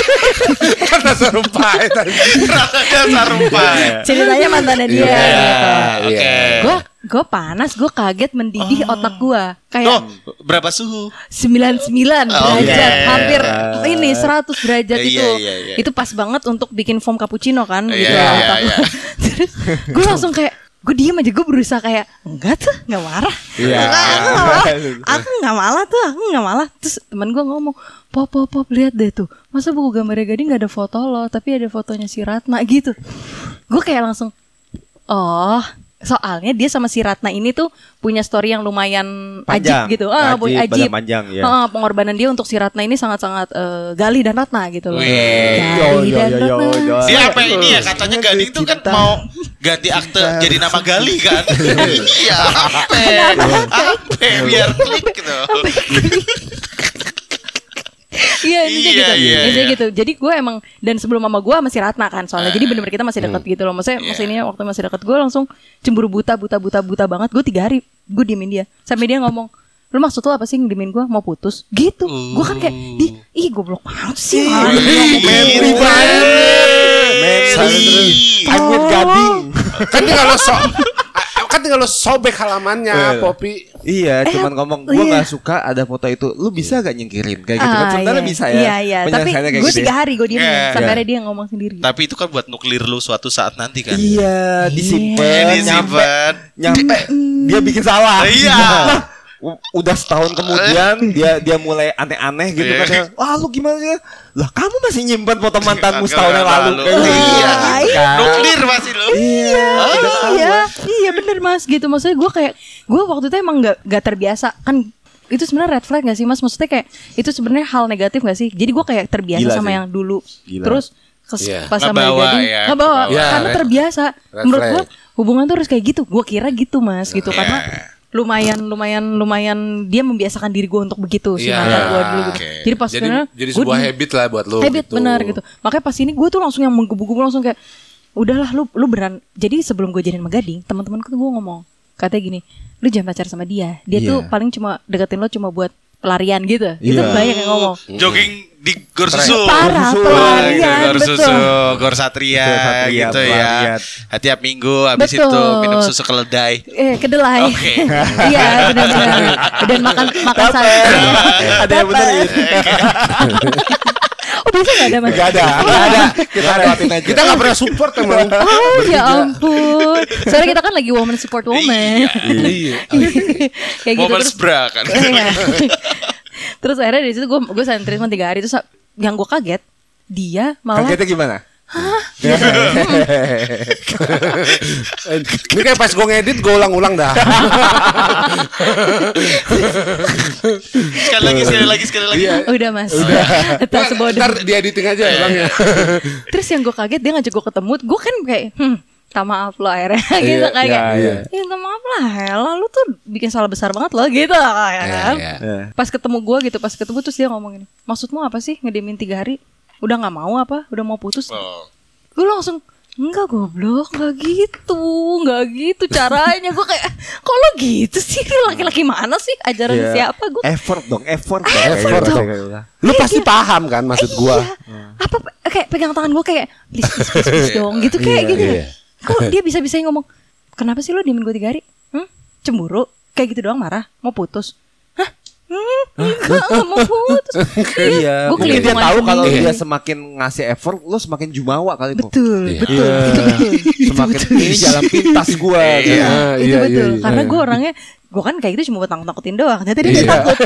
Ratanya Sarumpait. Ceritanya mantannya dia gitu. Gue panas, gue kaget mendidih otak gue. Kayak berapa suhu? 99 derajat, hampir ini 100 derajat itu. Itu pas banget untuk bikin foam cappuccino kan gitu. Terus gue langsung kayak gue diem aja, gue berusaha kayak enggak tuh, nggak marah. Aku nggak malah. Terus teman gue ngomong, pop lihat deh tuh, masa buku gambarnya Gading nggak ada foto lo, tapi ada fotonya si Ratna gitu. Gue kayak langsung, soalnya dia sama si Ratna ini tuh punya story yang lumayan ajib gitu. Ajib. Panjang, ya. Pengorbanan dia untuk si Ratna ini sangat-sangat Gali dan Ratna gitu loh. Gali dan Ratna. Dia apa ini ya, katanya Gading tuh kan mau ganti akte jadi nama Gali kan. Iya, apa biar klik gitu. Iya gitu. Jadi gue emang, dan sebelum mama gue masih Ratna kan soalnya. Jadi bener-bener kita masih dekat gitu loh. Maksudnya waktu masih dekat gue langsung cemburu buta banget. Gue 3 hari gue diemin dia. Sampai dia ngomong, lu maksud lu apa sih ngediemin gue, mau putus? Gitu. Gue kan kayak, goblok banget sih. Memory banget. I'm with Gading. Kan dia kalau Kan tinggal lo sobek halamannya, Poppy. Iya, cuman ngomong gue nggak suka ada foto itu. Lu bisa gak nyingkirin kayak gitu kan? Sebenarnya bisa ya. Iya. Tapi gue 3 hari gue diem sampai akhirnya dia ngomong sendiri. Tapi itu kan buat nuklir lu suatu saat nanti kan. Iya, disimpan. Nyampe dia bikin salah. Iya. Udah setahun kemudian dia mulai aneh-aneh gitu kan. Wah, lu gimana sih? Lah, kamu masih nyimpan foto mantanmu setahun yang lalu. Iya. Nuklir masih lu. Iya bener Mas gitu. Maksudnya gue waktu itu emang gak terbiasa kan. Itu sebenarnya red flag gak sih Mas? Maksudnya kayak itu sebenarnya hal negatif gak sih? Jadi gue kayak terbiasa sama yang dulu. Terus pas sama dia nggak bawa karena terbiasa. Menurut gue hubungan tuh harus kayak gitu. Gue kira gitu Mas gitu karena lumayan dia membiasakan diri gue untuk begitu sih mantan gue dulu gitu. Jadi pas jadi sebuah habit lah buat lo. Habit gitu. benar gitu. Makanya pas ini gue tuh langsung yang menggebu-gebu langsung kayak udahlah lu beran. Jadi sebelum gue jadian sama Gading, teman-temanku tuh gue ngomong katanya gini, lu jangan pacaran sama dia. Dia tuh paling cuma deketin lo cuma buat pelarian gitu. Itu banyak yang ngomong. Jogging di Gor Susu. Parah, pelarian, Gor Susu, Gor Satria gitu ya. Tiap minggu habis itu minum susu keledai. Kedelai. Iya, benar-benar. Dan makan sayur. Ada yang benerin. Oh biasa gak ada Mas? Gak ada. Kita lewatin aja. Kita gak pernah support emang. Oh ya ampun. Soalnya kita kan lagi woman support woman. Iya. Kayak gitu Woman terus. bra kan. Terus akhirnya dari situ gue sign treatment 3 hari. Terus yang gue kaget dia malah. Kagetnya gimana? Ini kayak pas gue ngedit gue ulang-ulang dah. Sekali lagi. Udah Mas. Udah. Ntar di editing aja ya Bang ya. Terus yang gue kaget dia ngajak gue ketemu. Gue kan kayak minta maaf lo akhirnya gitu kayak minta maaf lah lu tuh bikin salah besar banget lo gitu kan. Pas ketemu gue gitu, pas ketemu terus dia ngomong gini, maksudmu apa sih ngediemin 3 hari? Udah gak mau apa? Udah mau putus? Gue langsung enggak goblok, gak gitu caranya. Gue kayak kok lo gitu sih, laki-laki mana sih, ajaran siapa? Gue effort dong. Lu pasti paham kan maksud gue. Apa kayak pegang tangan gue kayak please dong gitu kayak gitu. Kok dia bisa ngomong kenapa sih lo diemin gue 3 hari? Cemburu? Kayak gitu doang marah? Mau putus? Enggak mau putus. Iya. Mungkin dia tahu kalau dia semakin ngasih effort, lo semakin jumawa kali. Betul. Semakin ini jalan pintas gue. Itu betul. Karena gue orangnya, gue kan kayak gitu cuma buat takut-takutin doang. Ternyata dia takut.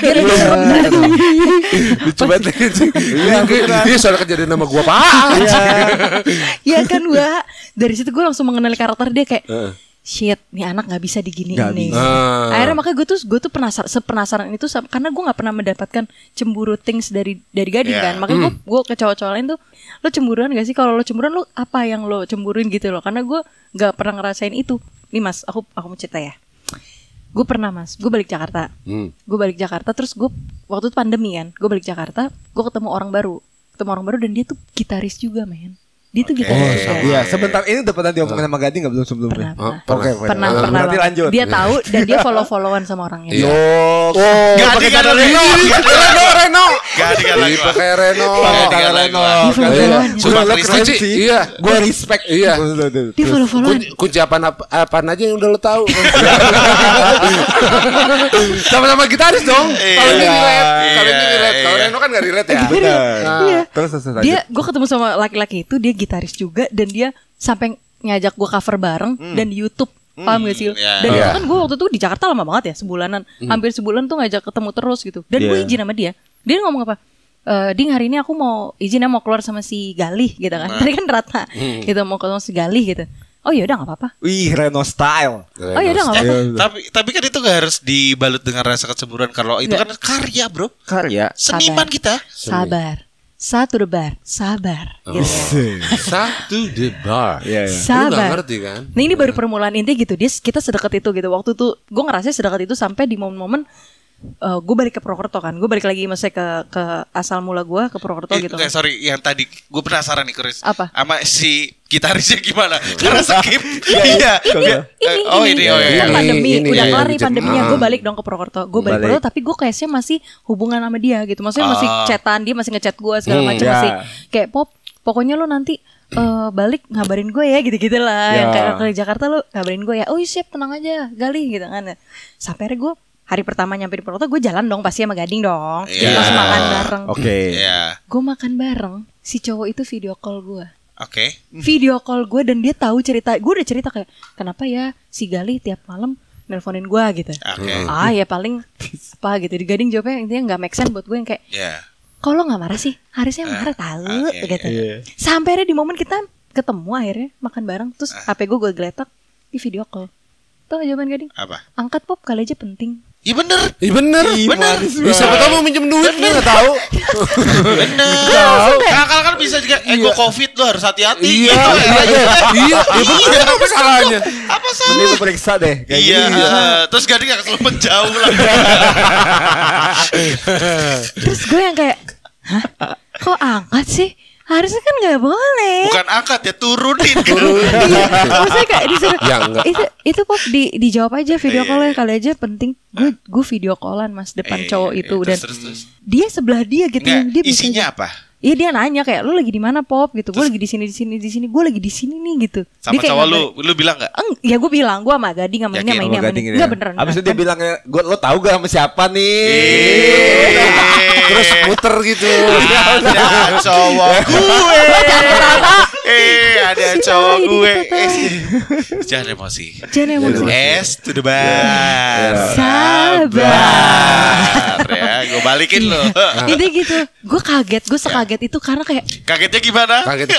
Coba dia soal kejadian nama gue Pak. Iya kan gue. Dari situ gue langsung mengenali karakter dia kayak shit, nih anak nggak bisa diginiin nih. Akhirnya makanya gue tuh penasaran itu karena gue nggak pernah mendapatkan cemburu things dari Gading kan. Makanya gue ke cowok-cowok lain tuh, lo cemburuan gak sih? Kalau lo cemburuan lo apa yang lo cemburuin gitu loh? Karena gue nggak pernah ngerasain itu. Nih Mas, aku mau cerita ya. Gue pernah Mas, gue balik Jakarta. Terus gue waktu itu pandemi kan, gue balik Jakarta, gue ketemu orang baru dan dia tuh gitaris juga men. Dia tuh gitaris. Iya, sebentar ini udah pernah diomongin sama Gading enggak belum sebelumnya? Pernah. Nanti lanjut. Dia tahu dan dia follow-followan sama orangnya. Gak pakai kata Reno. Pakai Reno. Sudah lo keren sih. sih. Iya, gue respect. Iya. Dia follow-followan. Kunci apaan aja yang udah lo tahu. Sama-sama gitaris dong. Kalau ini relate. Kalau Reno kan gak relate ya. Iya. Terus dia, gue ketemu sama laki-laki itu, dia gitaris juga dan dia sampai ngajak gue cover bareng dan di YouTube. Paham gak sih? Dan itu kan gue waktu itu di Jakarta lama banget ya, sebulanan. Hampir sebulan tuh ngajak ketemu terus gitu. Dan gue izin sama dia. Dia ngomong apa? Ding hari ini aku mau izinnya mau keluar sama si Galih gitu kan. Tadi kan Ratna gitu, mau ketemu si Galih gitu. Oh ya udah nggak apa-apa. Wih, Reno style. Oh ya udah nggak apa-apa. Tapi kan itu gak harus dibalut dengan rasa kecemburuan. Kalau itu kan karya bro. Karya. Seniman kita. Sabar. Satu debar, sabar. Gitu. Satu debar. Sabar. Lu gak ngerti kan? Nah ini baru permulaan intinya gitu. Kita sedekat itu gitu. Waktu tuh gue ngerasa sedekat itu sampai di momen-momen gue balik ke Purwokerto kan. Gue balik lagi maksudnya ke asal mula gue ke Purwokerto gitu. Enggak, sorry, yang tadi gue penasaran nih Chris. Apa? Sama si gitarisnya gimana? Karena skip. Iya. Ini kan pandemi. Udah kelar nih pandeminya. Gue balik dong ke Purwokerto. Gue balik Purwokerto tapi gue kayaknya masih hubungan sama dia gitu. Maksudnya masih chatan, dia masih ngechat gue segala macam masih kayak pokoknya lo nanti balik ngabarin gue ya gitu-gitu lah. Yang kayak ke Jakarta lu ngabarin gue ya. Oh siap, tenang aja Gali gitu kan. Sampai akhirnya gue hari pertama nyampe di Purwokerto gue jalan dong pasti sama Gading dong. Langsung makan bareng. Gue makan bareng, si cowok itu video call gue. Video call gue dan dia tahu cerita. Gue udah cerita kayak kenapa ya si Gali tiap malam nelponin gue gitu. Ya paling apa gitu. Di Gading jawabnya intinya nggak make sense buat gue yang kayak kalau nggak marah sih harusnya marah tahu gitu. Sampai ada di momen kita ketemu akhirnya makan bareng terus HP gue geletak di video call. Tuh jawaban Gading. Apa? Angkat Pop, kali aja penting. Iya bener. Siapa tahu mau minjem duit dia nggak tahu. Bener. Kakak kan bisa juga. Gue COVID lo harus hati-hati. Iya. Apa salahnya? Apa salah? Mending lu periksa deh. Terus Gading gak kesel menjauh lah. Terus gue yang kayak, hah? Kok angkat sih? Harusnya kan gak boleh. Bukan angkat ya, turunin. Maksudnya kayak disuruh itu Pop dijawab aja video call-nya kali aja penting. Gue video callan mas depan cowok itu dan terus. dia sebelah dia gitu. Dia isinya apa? Iya dia nanya kayak lu lagi di mana Pop gitu. Gue lagi di sini. Gue lagi di sini nih gitu. Sama cowok lu bilang enggak? Ya gue bilang gue sama Gading sama ini. Enggak beneran. Abis itu dia bilangnya lo tahu gak sama siapa nih? Terus muter gitu. Ada cowok gue. Ada cowok gue. Jangan emosi. S to the bar. Sabar. Ya, gue balikin lo. Ini gitu. Gue kaget. Gue sekaget itu karena kayak kagetnya gimana? Kaget.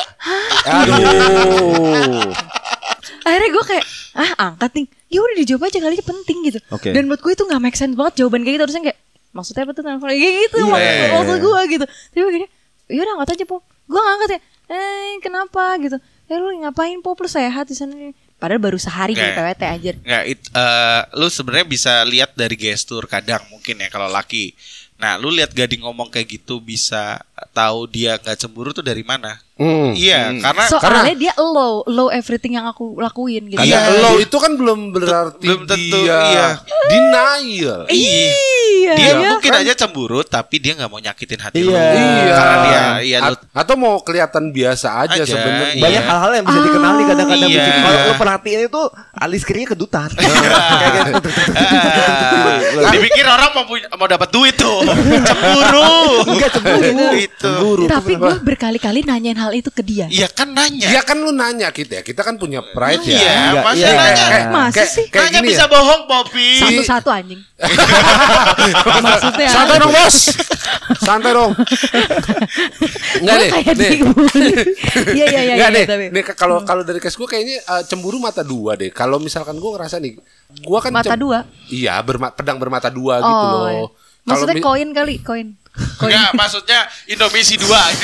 Akhirnya gue kayak angkat nih. Ya udah dijawab aja kali aja penting gitu. Dan buat gue itu nggak make sense banget jawaban kayak gitu. Terusnya kayak maksudnya apa tuh telepon kayak gitu maksud gue gitu. Tapi begini, yaudah angkat aja Pop. Gue ngangkat ya. Kenapa gitu? Lu ngapain Pop, lu sehat di sana? Padahal baru sehari gitu PWT aja. Lu sebenarnya bisa lihat dari gestur kadang mungkin ya kalau laki. Nah, lu lihat Gading ngomong kayak gitu bisa tahu dia nggak cemburu tuh dari mana? Karena soalnya dia low everything yang aku lakuin gitu. Karena low itu kan belum berarti belum tentu dia denial. Dia mungkin aja cemburu tapi dia nggak mau nyakitin hati lu. Karena dia atau mau kelihatan biasa aja sebenarnya. Banyak hal-hal yang bisa dikenali kadang-kadang. Kalau lu perhatiin itu alis kirinya kedutan. Kayak gitu. Dipikir orang mau dapat duit tuh. Cemburu. Enggak cemburu. Tapi gue berkali-kali nanyain hal itu ke dia. Iya kan nanya. Iya kan lu nanya kita kan punya pride ya. Iya, masa nanya. Masa sih? Nanya bisa bohong Poppy. Satu-satu anjing. Maksudnya santai dong bos. Santai dong. Enggak deh. Iya. Nih kalau dari case gue kayaknya cemburu mata dua deh. Kalau misalkan gue ngerasa nih, gue kan mata dua. Iya, pedang bermata dua gitu loh. Maksudnya koin. Enggak, maksudnya Indomie 2 ini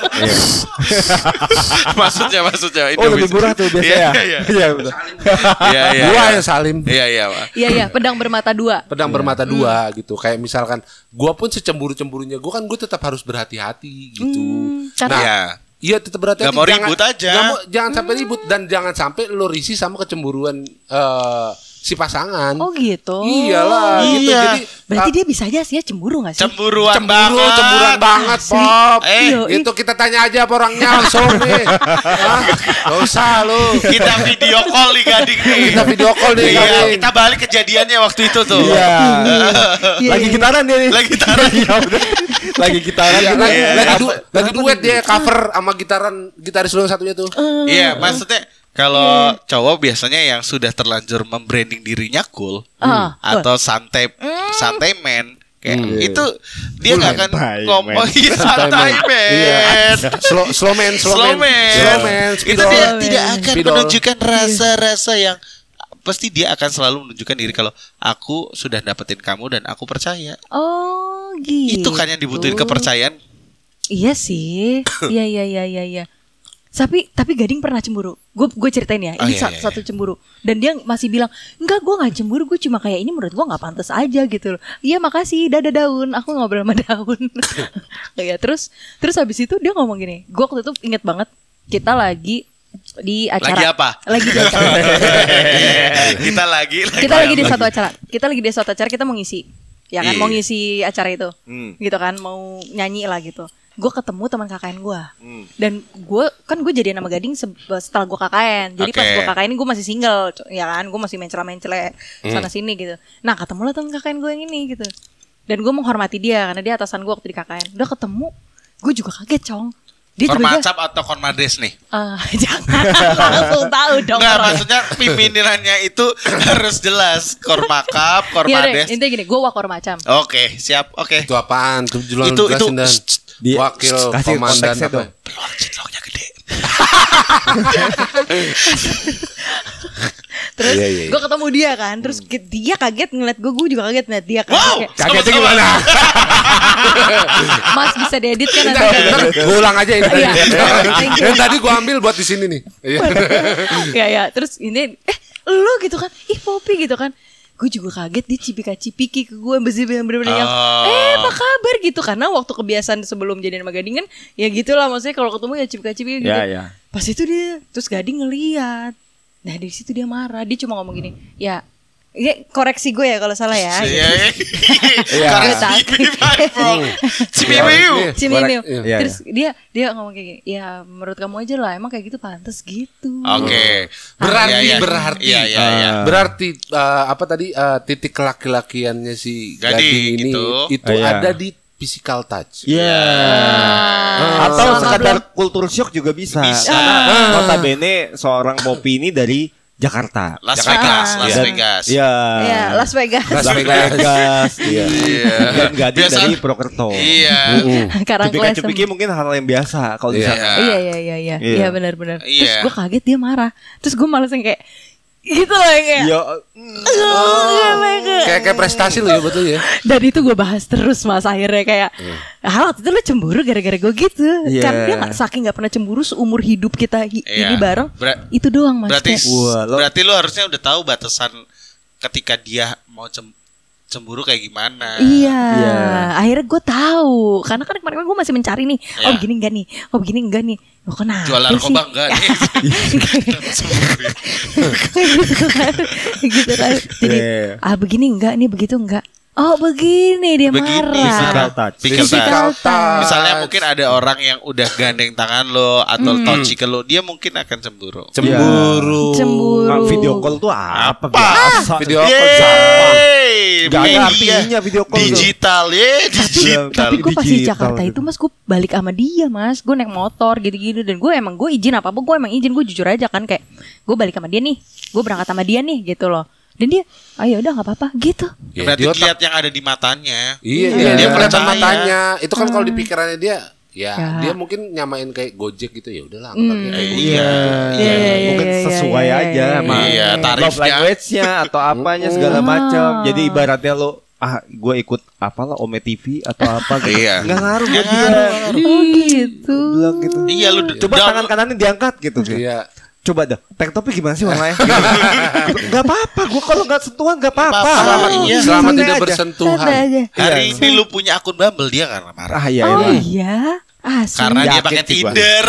maksudnya Indomie. Oh, lebih murah tuh biasanya. Iya, betul. Gua yang Salim. Iya, pedang bermata dua. Pedang bermata dua gitu. Kayak misalkan gua pun secemburu-cemburunya gua kan gua tetap harus berhati-hati gitu. Nah, iya tetap berhati-hati. Gak mau ribut aja. Jangan sampai ribut dan jangan sampai lo risih sama kecemburuan si pasangan. Oh gitu. Iyalah gitu. Jadi berarti dia bisa aja sih cemburu gak sih? Cemburuan banget Pop. Itu kita tanya aja apa orangnya langsung nih. Gak usah lu. Kita video call nih Gading nih. Kita balik kejadiannya waktu itu tuh. Lagi gitaran dia nih. Lagi gitaran. Lagi duet dia cover sama gitaris lu yang satunya tuh. Iya, maksudnya kalau cowok biasanya yang sudah terlanjur membranding dirinya cool atau santai man kayak itu dia nggak akan ngomong santai man, slow man. Itu dia tidak akan menunjukkan rasa-rasa yang pasti dia akan selalu menunjukkan diri kalau aku sudah dapetin kamu dan aku percaya. Oh gitu. Itu kan yang dibutuhin kepercayaan. Iya sih. Iya. Tapi Gading pernah cemburu. Gue ceritain ya. Ini satu cemburu. Dan dia masih bilang, enggak, gue gak cemburu. Gue cuma kayak ini menurut gue gak pantas aja gitu loh. Iya makasih, dadah daun. Aku ngobrol sama daun. Ya, terus habis itu dia ngomong gini. Gue waktu itu inget banget. Kita lagi di acara. Lagi apa? Lagi di acara. Kita lagi di satu acara. Kita mau ngisi. Ya kan mau ngisi acara itu. Gitu kan, mau nyanyi lah gitu. gue ketemu teman KKN gue. Dan gue jadian sama Gading setelah gue KKN. Jadi pas gue KKN gue masih single, ya kan? Gue masih mencela-mencela sana sini gitu. Nah ketemu lah teman KKN gue yang ini gitu. Dan gue menghormati dia karena dia atasan gue waktu di KKN. Udah ketemu, gue juga kaget Cong. Kormacap atau Kormades nih? Jangan langsung tahu dong. Enggak, maksudnya pimpinannya itu harus jelas. Kormakap, Kormades. Intinya gini, gue Wakormacam. Oke, siap. Oke. Itu apaan? Itu Itu dan wakil komandan apa? Peluang cinloknya gede. Terus gue ketemu dia kan. Terus dia kaget ngeliat gue juga kaget ngeliat dia kan. Wow, kagetnya gimana? Mas bisa diedit kan nanti. Gue ulang aja ini. Iya. Yang tadi gue ambil buat di sini nih. Ya. Terus ini lu gitu kan. Ih Poppy gitu kan. Gue juga kaget dia cipika-cipiki ke gue bener-bener yang apa kabar gitu. Karena waktu kebiasaan sebelum jadian sama Gading kan ya gitulah, maksudnya kalau ketemu ya cipika-cipiki gitu. Pas itu dia, terus Gading ngeliat. Nah dari situ dia marah. Dia cuma ngomong gini, ya koreksi gue ya kalau salah ya. Cimimiu. Terus dia ngomong kayak gini, ya menurut kamu aja lah, emang kayak gitu pantas gitu. Oke. Berarti apa tadi titik laki-lakiannya si Gading ini itu ada di physical touch. Atau sekadar culture shock juga bisa. Karena notabene seorang Poppy ini dari Jakarta. Las Vegas. Iya. Las Vegas. Iya. Dan Gading dari Purwokerto. Iya. Cipika-cipiki mungkin hal yang biasa kalau di sana. Iya. Iya benar-benar. Terus gue kaget dia marah. Terus gue malas yang kayak gitu loh kayak. Kayak prestasi loh ya betul ya. Dan itu gue bahas terus Mas akhirnya kayak waktu itu lo cemburu gara-gara gue gitu. Karena dia saking gak pernah cemburu seumur hidup kita ini bareng. Itu doang Mas. Berarti lo harusnya udah tahu batasan ketika dia mau cemburu kayak gimana. Iya. Akhirnya gue tahu. Karena kan kemarin gue masih mencari nih. Oh begini enggak nih. Oh begini enggak nih. Oh kenapa jual narkoba enggak nih. Gitu kan. Jadi begini enggak nih, begitu enggak. Oh begini dia marah. Physical touch. Misalnya mungkin ada orang yang udah gandeng tangan lo atau touchy ke lo, dia mungkin akan cemburu. Video call tuh apa? Video call siapa? Gak ada artinya video call. Digital. Tapi gue pas di Jakarta itu Mas, gue balik sama dia Mas. Gue naik motor gitu-gitu. Dan gue izin apa-apa, gue emang izin. Gue jujur aja kan, kayak gue balik sama dia nih, gue berangkat sama dia nih gitu loh. Dan dia, ayo udah gak apa-apa gitu. Berarti lihat yang ada di matanya. Iya, dia kelihatan matanya. Itu kan kalau di pikirannya dia, dia mungkin nyamain kayak Gojek gitu, ya udahlah anggap aja kayak Gojek. Mungkin sesuai aja sama love language-nya atau apanya segala macam. Jadi ibaratnya lo gue ikut apalah Ome TV atau apa gitu. Nggak ngaruh buat dia. Oh gitu. Bilang gitu. Iya lu coba tangan kanannya diangkat gitu. Iya. Coba dah, tank topi gimana sih warnanya? Gak apa-apa, gue kalau gak sentuhan gak apa-apa. Selama tidak bersentuhan. Hari ini lu punya akun Bumble, dia karena marah. Oh iya, karena dia pakai Tinder.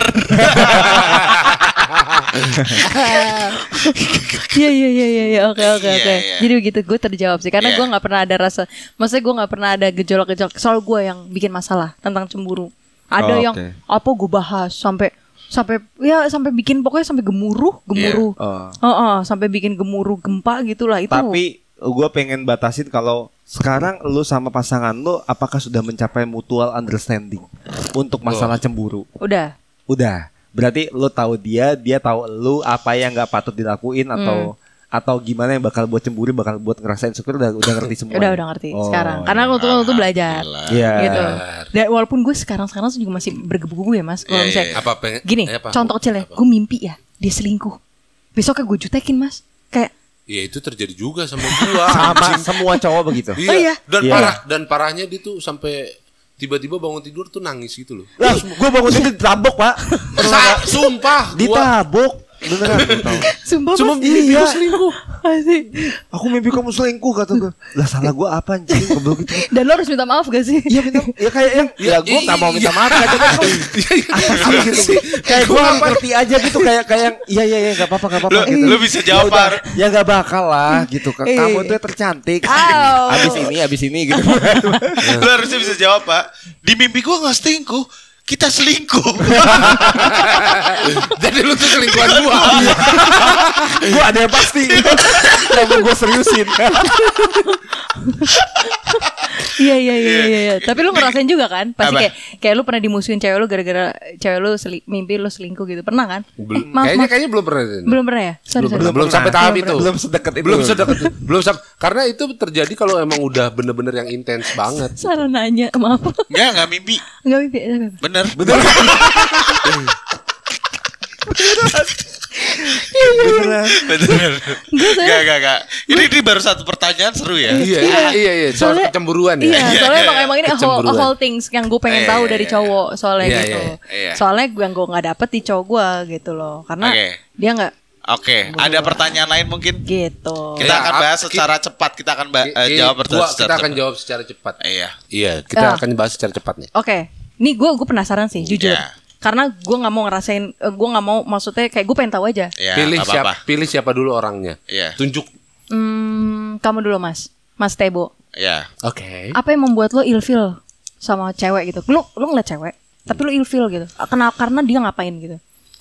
Iya, oke. Jadi begitu, gue terjawab sih. Karena gue gak pernah ada rasa, maksudnya gue gak pernah ada gejolak-gejolak. Soal gue yang bikin masalah tentang cemburu. Ada yang apa gue bahas sampai bikin pokoknya sampai gemuruh. Sampai bikin gemuruh gempa gitulah itu. Tapi gue pengen batasin kalau sekarang lu sama pasangan lu apakah sudah mencapai mutual understanding untuk masalah cemburu? Udah. Berarti lu tahu dia tahu lu apa yang nggak patut dilakuin atau gimana yang bakal buat cemburu, bakal buat ngerasain syukur udah ngerti semua. Udah ngerti sekarang. Karena waktu itu belajar. Gitu. Dan walaupun gue sekarang juga masih bergebu-gebu ya Mas. Kalau misalnya gini, contoh kecil ya, gue mimpi ya dia selingkuh. Besoknya gue jutekin Mas. Kayak itu terjadi juga sama gua. Sama semua cowok begitu. Iya. Dan parahnya dia tuh sampai tiba-tiba bangun tidur tuh nangis gitu loh. Lah, gue bangun tidur ditabok, Pak. Sumpah, ditabok. Beneran. Sumpah mimpi gue selingkuh. Asik. Aku mimpi kamu selingkuh kata gue. Lah salah gue apa anjing? Goblok gitu. Dan lo harus minta maaf gak sih? Iya minta. Ya kayak yang gue gak mau minta maaf aja kan. Apa sih gitu. Kayak gue ngerti aja gitu kayak yang iya gak apa-apa gitu. Lu bisa jawab. Ya gak bakal lah gitu. Kamu tuh tercantik. Abis ini gitu. Lu harusnya bisa jawab, Pak. Di mimpi gue gak selingkuh. kita selingkuh. Jadi lu tuh selingkuhan gua. Gua ada yang pasti. Kenapa gua seriusin? Iya. Tapi lu ngerasain juga kan? Pasti kayak lu pernah dimusuhin cewek lu gara-gara cewek lu mimpi lu selingkuh gitu. Pernah kan? Kayaknya belum pernah. Belum pernah ya? Belum sampai tahap itu. Belum sedekat itu. Karena itu terjadi kalau emang udah bener-bener yang intens banget. Salah nanya, maaf. Enggak mimpi. Enggak mimpi. Bener. Beneran. Enggak. Ini baru satu pertanyaan seru ya. Iya. Soal kecemburuan ya. Iya, soalnya emang ini a whole things yang gue pengen tahu dari cowok soalnya gitu. Soalnya gue nggak dapet di cowok gue gitu loh, karena dia nggak. Oke, ada pertanyaan lain mungkin? Gitu. Kita akan bahas secara cepat. Kita akan jawab kita akan jawab secara cepat. Iya, kita akan bahas secara cepat nih. Oke. Nih gue penasaran sih, jujur. Karena gue nggak mau ngerasain, gue nggak mau, maksudnya kayak gue pengen tahu aja. Pilih siapa dulu orangnya. Tunjuk. Kamu dulu Mas Tebo. Oke. Apa yang membuat lo ilfeel sama cewek gitu? Lo ngeliat cewek, tapi lo ilfeel gitu. Karena dia ngapain gitu?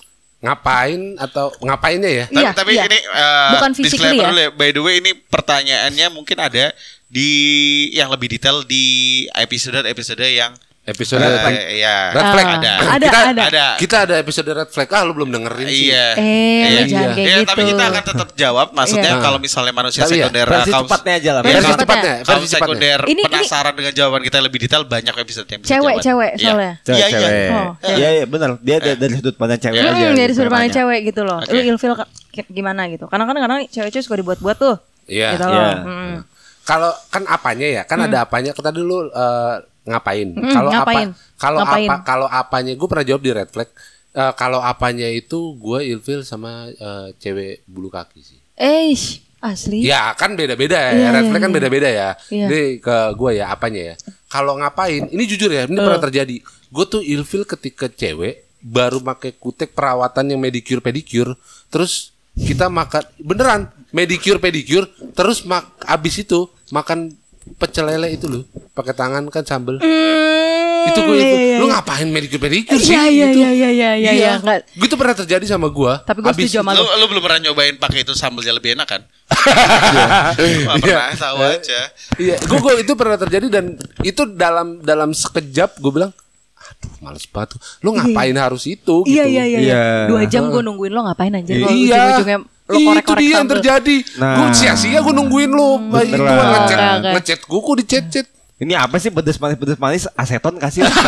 Ngapainnya ya? Tapi ini bukan physically ya. Dulu ya. By the way, ini pertanyaannya mungkin ada di yang lebih detail di episode yang Red Flag ada. Kita ada episode Red Flag. Lu belum dengerin sih. Jangan kayak gitu. Tapi kita akan tetap jawab. Maksudnya kalau misalnya manusia sekunder, versi cepatnya aja lah. Versi cepatnya. Kaum sekunder penasaran dengan jawaban kita lebih detail, banyak episode yang bisa jawab. Cewek soalnya. Iya benar. Dia dari sudut pandang cewek aja. Dari sudut pandang cewek gitu loh. Lu ilfeel gimana gitu? Karena kadang cewek-cewek suka dibuat-buat tuh. Iya. Gitu loh. Kalau kan apanya ya? Kan ada apanya. Kita dulu ngapain? Kalau apanya gue pernah jawab di Red Flag. Kalau apanya itu gue ilfeel sama cewek bulu kaki sih. Asli. Ya kan beda-beda ya. Red Flag kan beda-beda ya. Jadi ke gue ya apanya ya. Kalau ngapain? Ini jujur ya, ini pernah terjadi. Gue tuh ilfeel ketika cewek baru pakai kutek perawatan yang medicure pedicure, terus kita makan beneran medicure pedicure, terus abis itu makan pecel lele itu loh, pakai tangan kan sambel. Itu gue lu ngapain medicure pedicure sih? Iya. Gitu pernah terjadi sama gue. Tapi gue setuju sama lu belum pernah nyobain pakai itu sambelnya lebih enak kan? Pernah tahu aja. Iya, gue itu pernah terjadi dan itu dalam sekejap gue bilang, aduh males banget. Lu ngapain harus itu? Gitu. Iya. 2 jam gue nungguin lo ngapain anjir? Ujung-ujungnya lo korek-korek itu dia yang terjadi. Gue sia-sia gue nungguin lo. Itu ngechat gue kok dicet-cet. Ini apa sih pedes manis aseton kasih lah.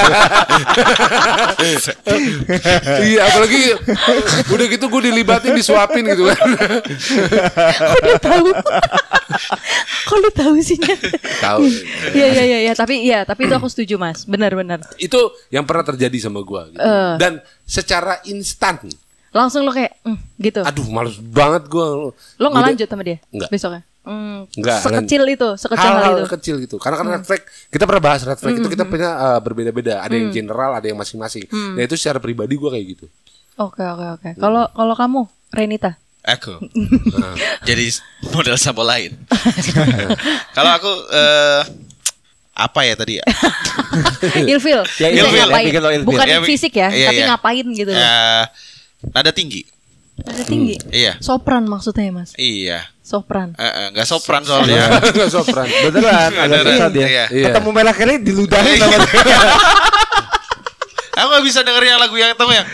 Iya, apalagi udah gitu gue dilibatin disuapin gitu kan. Udah tahu. Kok lu tahu sih? Tahu. Iya, tapi itu aku setuju Mas. Benar. Itu yang pernah terjadi sama gue gitu. Dan secara instan langsung lo kayak gitu. Aduh, males banget gue. Lo nggak lanjut sama dia? Enggak. Besoknya? Enggak. Sekecil hal itu. Kecil gitu. Karena kan red flag, kita pernah bahas red flag itu kita punya berbeda-beda. Ada yang general, ada yang masing-masing. Nah itu secara pribadi gue kayak gitu. Oke. Kalau kamu, Renita? Aku. Jadi model sampo lain. Kalau aku apa ya tadi ya? Ilfil. Bukan fisik ya, tapi ngapain gitu. Nada tinggi. Iya. Sopran maksudnya Mas. Iya. Sopran. Enggak sopran soalnya. Enggak sopran. Beneran. Ada dia. Ketemu merah kali diludahin sama dia. Aku gak bisa denger yang lagu yang tahu yang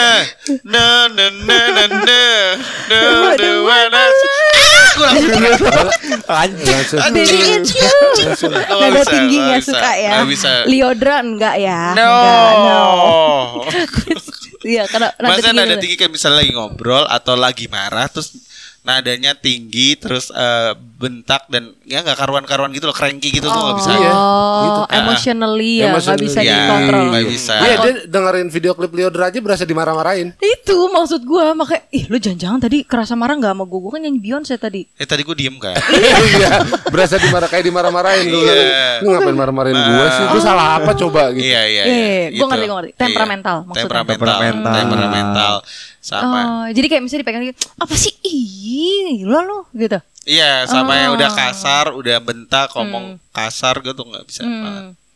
Nada tinggi gak suka ya. Liodra enggak ya. No. Iya, karena nada tinggi kan misalnya lagi ngobrol atau lagi marah terus nadanya tinggi terus bentak dan ya nggak karuan-karuan gitu loh, cranky gitu tuh nggak bisa. Gitu. Emotionally ya nggak bisa dikontrol. Nggak bisa. Iya, dia dengerin video klip Liodra aja berasa dimarah-marahin. Itu maksud gue, makanya lu jangan-jangan tadi kerasa marah nggak sama gue kan nyanyi Beyonce tadi. Tadi gue diem kan. Iya, berasa dimarah-marahin lu. Lu ngapain marah-marahin gue sih? Gue salah apa coba gitu. Iya. Gue ngerti. Temperamental maksudnya. Temperamental. Sama. Jadi kayak misalnya dipegang apa sih? Ih, lo gitu. Iya, sama yang udah kasar, udah bentak, ngomong kasar gitu nggak bisa.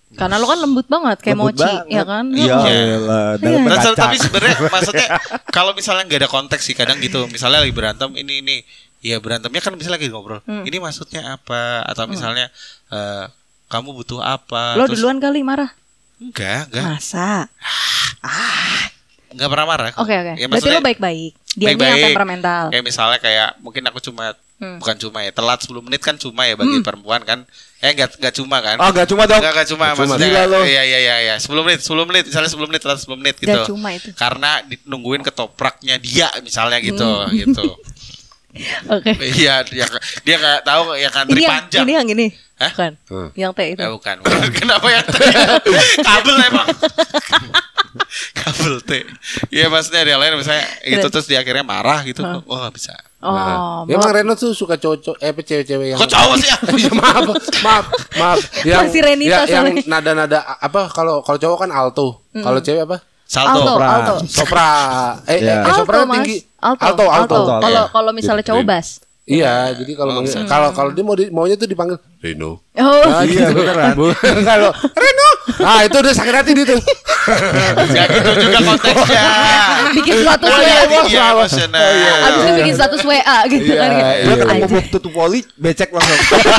Karena lo kan lembut banget kayak Lembut mochi, banget. ya kan? Iya lah. Dalam Nah, berkaca. tapi sebenarnya maksudnya kalau misalnya nggak ada konteks sih kadang gitu. Misalnya lagi berantem ini. Ya berantemnya kan misalnya lagi ngobrol. Ini maksudnya apa? Atau misalnya kamu butuh apa? Lo Terus, duluan kali marah. Enggak. Masa? Enggak pernah marah. Oke. Ya, Berarti maksudnya lo baik-baik. Dia yang baik-baik. temperamental. Kayak misalnya kayak mungkin aku cuma bukan cuma ya telat 10 menit kan cuma ya bagi perempuan kan. Enggak cuma kan. Oh, enggak cuma dong. Enggak cuma Gila maksudnya. lo. Iya. 10 menit misalnya 10 menit telat 10 menit gitu. Nggak cuma itu. Karena nungguin ketopraknya dia misalnya gitu gitu. Oke. Iya, dia enggak tahu ya kan Ini panjang. yang ini. Hah? Bukan. Yang teh itu. Bukan. Kenapa yang teh? Kabel emang. Kabel teh. Iya maksudnya dia lain misalnya itu terus dia akhirnya marah gitu. Oh nggak bisa. Oh, Emang Reno tuh suka cowok cewek-cewek yang Kok cowok sih? Ya, maaf. Yang Masih Renita yang soalnya. nada-nada apa kalau cowok kan alto. Kalau cewek apa? Salto. Alto. Sopra. Sopra Mas. tinggi. Alto. Alto. Kalau misalnya cowok bass. Iya, jadi kalau kalau dia maunya tuh dipanggil Reno. Oh, Nah, Iya gitu. beneran. Bukan kalau Reno. Ah, itu udah sakit hati dia tuh. Gak gitu juga konteksnya. bikin status Oh WA. iya tinggi emosional. Abis itu bikin status WA gitu kan. Gue ketemu Anjir. Bob tutup poli, becek langsung.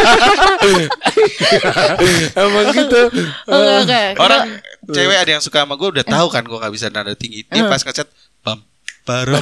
Emang gitu. Oke. Orang cewek ada yang suka sama gue udah tahu kan gue nggak bisa nada tinggi. Dia pas ngechat bam. Gue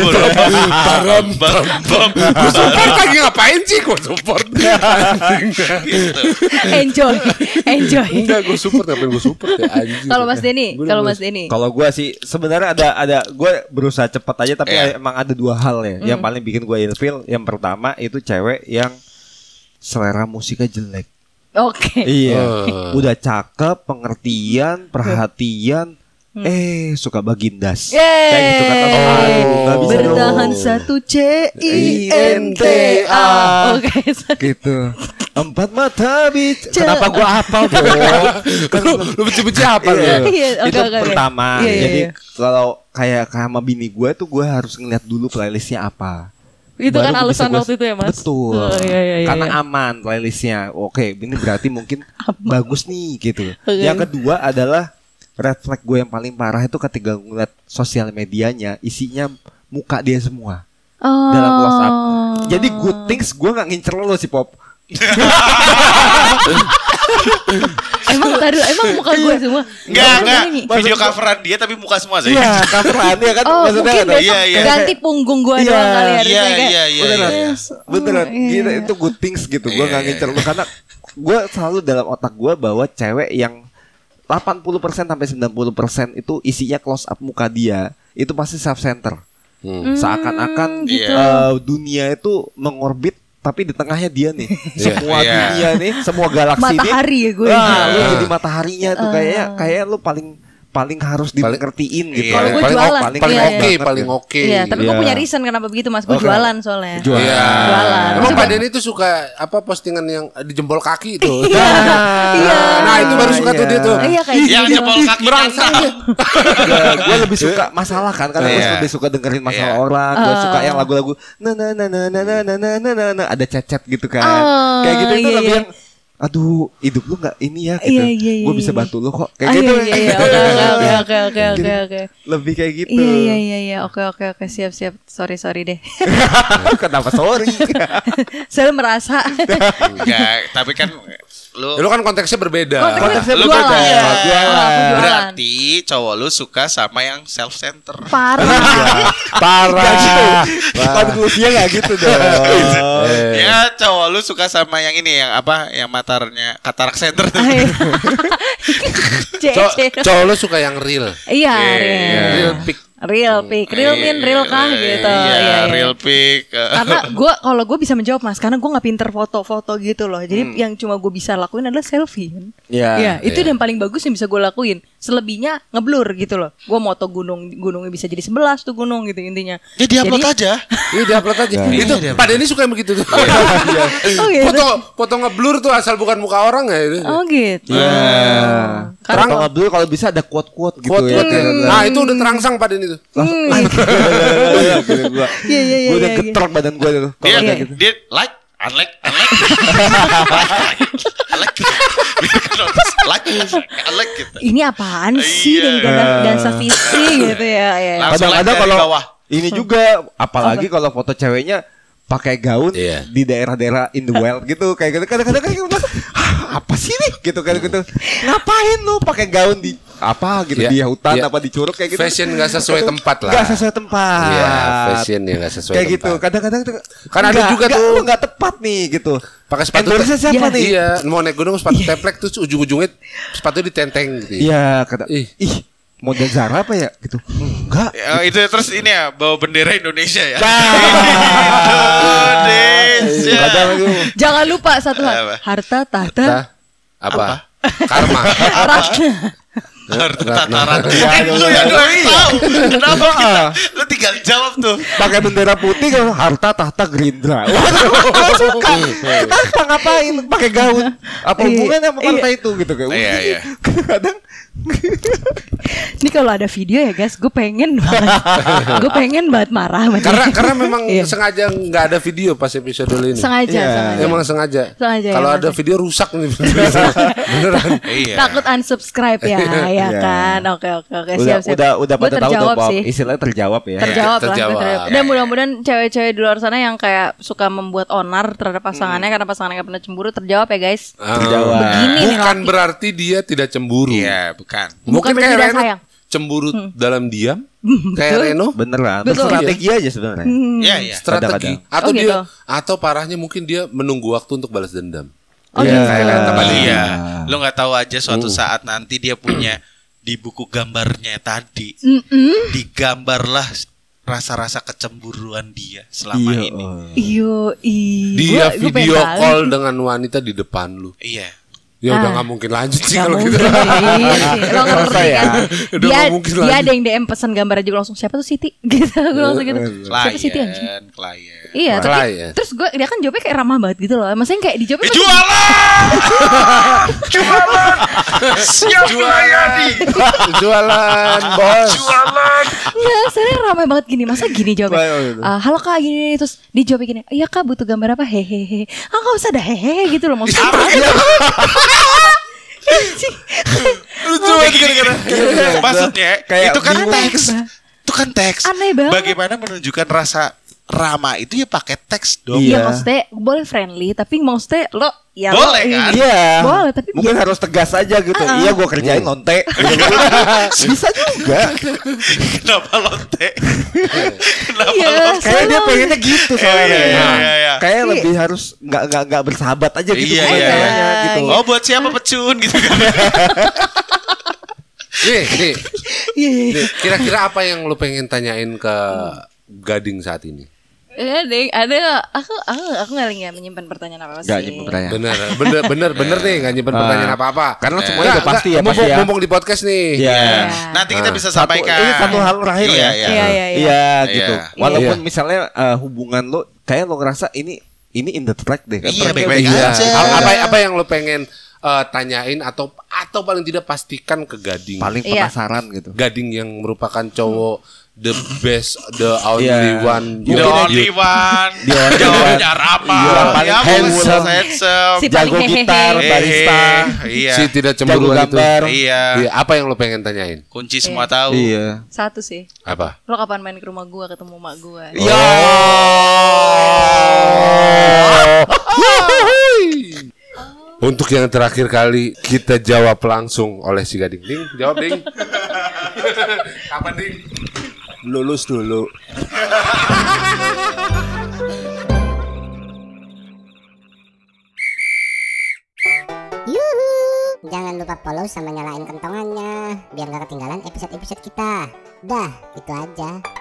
Support lagi ngapain sih? Gue support. gitu. Enjoy. Enggak, gue support. Ngapain gue support ya anjir. Kalau Mas Denny, Kalau gue sih sebenarnya ada gue berusaha cepat aja tapi Iya. emang ada dua hal ya yang paling bikin gue ilfeel. Yang pertama itu cewek yang selera musiknya jelek. Oke. Iya. Udah cakep, pengertian, perhatian. Suka bagindas. Yeay. Kayak gitu kan. Aduh, gak bisa Bertahan dong. satu CINTA. Oke. Gitu. Empat mata bicara. Kenapa gua hafal dong? Lu benci-benci apa lu? Iya, Itu oke. pertama. Iya, Jadi iya. kalau kayak sama bini gue tuh gue harus ngeliat dulu playlistnya apa. Itu Baru kan bisa alasan gua- waktu itu ya, Mas. Betul. Oh, iya. Karena aman playlistnya. Oke, ini berarti mungkin bagus nih gitu. Oke. Yang kedua adalah red flag gue yang paling parah itu ketika ngeliat sosial medianya isinya muka dia semua dalam close up. Jadi good things gue nggak ngincer lo si Pop. Emang muka gue semua. Enggak. Nyanyi. Video coveran dia tapi muka semua sih. Iya, coveran ya kan. Oh, Maksudnya mungkin kan? besok Iya. ganti punggung gue Iya. doang kali harusnya kayak. Iya. Beneran, beneran. iya, Gitu, iya. itu good things gitu. Gue nggak ngincer lo karena gue selalu dalam otak gue bahwa cewek yang 80% sampai 90% itu isinya close up muka dia itu pasti self center. Seakan-akan gitu. dunia itu mengorbit tapi di tengahnya dia nih. Semua Iya. dunia nih, semua galaksi Matahari ya gue. Lu jadi mataharinya tuh kayak lu paling harus dimengertiin gitu. Kalau gue paling jualan. paling Iya, oke, iya. paling oke. Iya, tapi gue Iya. punya reason kenapa begitu, Mas. Gue Oke. jualan soalnya. Jualan. Iya. Jualan. Emang Coba. Pak Denny itu suka apa postingan yang di jempol kaki itu. Iya. Nah, itu baru suka tuh dia tuh. Iya kayak Yang gitu. jempol kaki Merangsang dia. Gue lebih suka masalah kan karena gue Iya. lebih suka dengerin masalah Iya. orang. Gue suka yang lagu-lagu ada cecet gitu kan. Oh, Kayak gitu itu iya, lebih iya. yang aduh hidup lu nggak ini ya gitu. Iya. Gue bisa bantu lu kok. Kayak Ah, gitu. Iya. Oke. Lebih kayak gitu. Iya. Oke. Siap. Sorry deh. Kenapa sorry? Saya merasa. Enggak, tapi kan Lu kan konteksnya berbeda. Konteksnya Lu beda. beda. Jualan. Aku jualan. berarti cowok lu suka sama yang self center. Parah. Parah gitu. Konklusinya nggak gitu dong. Ya cowok lu suka sama yang ini yang apa? Yang matanya katarak center. Cowok lu suka yang real. Iya, Real pic. real pic, real min, real kah gitu. Iya, real pic. Karena kalau gue bisa menjawab, Mas, karena gue nggak pinter foto-foto gitu loh. Jadi yang cuma gue bisa lakuin adalah selfie. Iya. Itu yang paling bagus yang bisa gue lakuin. Selebihnya ngeblur gitu loh. Gue moto gunungnya bisa jadi 11 tuh gunung gitu intinya. Ya diupload aja. Iya, diupload aja. Itu Pak Denny suka yang begitu tuh. Oh gitu. Foto ngeblur tuh asal bukan muka orang ya itu. Oh gitu. Iya. Karena Kalau nggak dulu kalau bisa ada quote-quote gitu Quote ya. Nah, itu udah terangsang Pak Denny tuh. Iya. Gue udah Iya. getrek badan gue tuh. Dia Kalau kayak gitu. dia like Unlike gitu. Ini apaan sih dan sevisi gitu ya. Kadang-kadang kalau ini juga apalagi kalau foto ceweknya pakai gaun di daerah-daerah in the wild gitu kayak gitu kadang-kadang kayak gitu apa sih nih gitu kayak gitu ngapain lu pakai gaun di apa gitu di hutan apa di curug kayak gitu fashion nggak sesuai tempat lah nggak sesuai tempat fashion ya nggak sesuai kayak tempat. gitu kadang-kadang kan ada juga tuh nggak tepat nih gitu pakai sepatu siapa nih iya mau naik gunung sepatu teplek tuh ujung-ujungnya sepatu ditenteng gitu iya kata ih model Zara apa ya gitu enggak itu terus ini ya bawa bendera Indonesia ya Indonesia. Jangan lupa satu hal harta tahta apa karma harta tataran lu yang tahu kenapa kita lu tinggal jawab tuh pakai bendera putih kan harta tahta Gerindra suka apa ngapain pakai gaun apa hubungannya sama partai itu gitu kayak iya kadang ini kalau ada video ya guys, gue pengen banget marah. Karena memang sengaja nggak ada video pas episode ini. Sengaja. Emang sengaja. Kalau ada video rusak nih beneran. Takut unsubscribe ya kan. Oke siap. Udah pada tahu tuh Bob. Istilahnya terjawab ya. Terjawab lah. Dan mudah-mudahan cewek-cewek di luar sana yang kayak suka membuat onar terhadap pasangannya karena pasangannya gak pernah cemburu terjawab ya guys. Terjawab. Begini bukan berarti dia tidak cemburu. Iya, bukan. Mungkin kayak Reno sayang. cemburu dalam diam. Kayak Reno beneran. Betul. Strategi aja sebenarnya. Iya. Strategi. Atau gitu. dia atau parahnya mungkin dia menunggu waktu untuk balas dendam. Gitu. Iya. Lo nggak tahu aja suatu saat nanti dia punya di buku gambarnya tadi digambarlah rasa-rasa kecemburuan dia selama ini. Dia video call dengan wanita di depan lu. Iya. Ya udah nggak mungkin lanjut sih kalau gitu. Lo ngerti kan? Dia ada yang DM pesan gambar aja langsung siapa tuh Siti? Gitu gue langsung gitu. Siapa Siti anjing? Klien. Iya, tapi terus dia kan jawabnya kayak ramah banget gitu loh. Maksudnya kayak dijawabnya jualan. Siap melayani. Jualan, bos. Enggak, sebenarnya ramai banget gini. Masa gini jawabnya? Halo Kak gini terus dijawabnya gini. Iya Kak butuh gambar apa? Hehehe. Enggak usah dah hehehe gitu loh maksudnya. Lucu banget gara-gara. Maksudnya itu kan teks. Itu kan teks. Aneh banget. Bagaimana menunjukkan rasa ramah itu ya pakai teks dong. Iya maksudnya boleh friendly tapi maksudnya lo ya boleh kan? Iya. Boleh tapi mungkin harus tegas aja gitu. Iya gue kerjain lonte. Bisa juga. Kenapa lonte? Kayak dia pengennya gitu soalnya. Iya. Kayak lebih harus nggak bersahabat aja gitu. Iya. Gitu. Oh buat siapa pecun gitu kan? Nih. Kira-kira apa yang lu pengen tanyain ke Gading saat ini? Ada aku nggak menyimpan pertanyaan apa sih. Gak nyimpen pertanyaan. Bener nih nggak nyimpen pertanyaan apa-apa. Karena semuanya udah pasti ya. Mumpung di podcast nih. Iya. Nanti kita bisa sampaikan. Ini satu hal terakhir ya. Iya gitu. Walaupun misalnya hubungan lo kayak lo ngerasa ini in the track deh. Iya baik-baik aja. Apa yang lo pengen tanyain atau paling tidak pastikan ke Gading. Paling penasaran gitu. Gading yang merupakan cowok the best, the only one, jawabannya apa? Paling handsome, jago gitar, barista, si tidak cemburu itu. Iya. Apa yang lo pengen tanyain? Kunci semua tahu. Iya. Satu sih. Apa? Lo kapan main ke rumah gua ketemu mak gua? Iya. Untuk yang terakhir kali kita jawab langsung oleh si Gading. Ding, jawab Ding. Kapan Ding? Lulus dulu. Yuhu, jangan lupa follow sama nyalain kentongannya biar gak ketinggalan episode-episode kita. Dah, itu aja.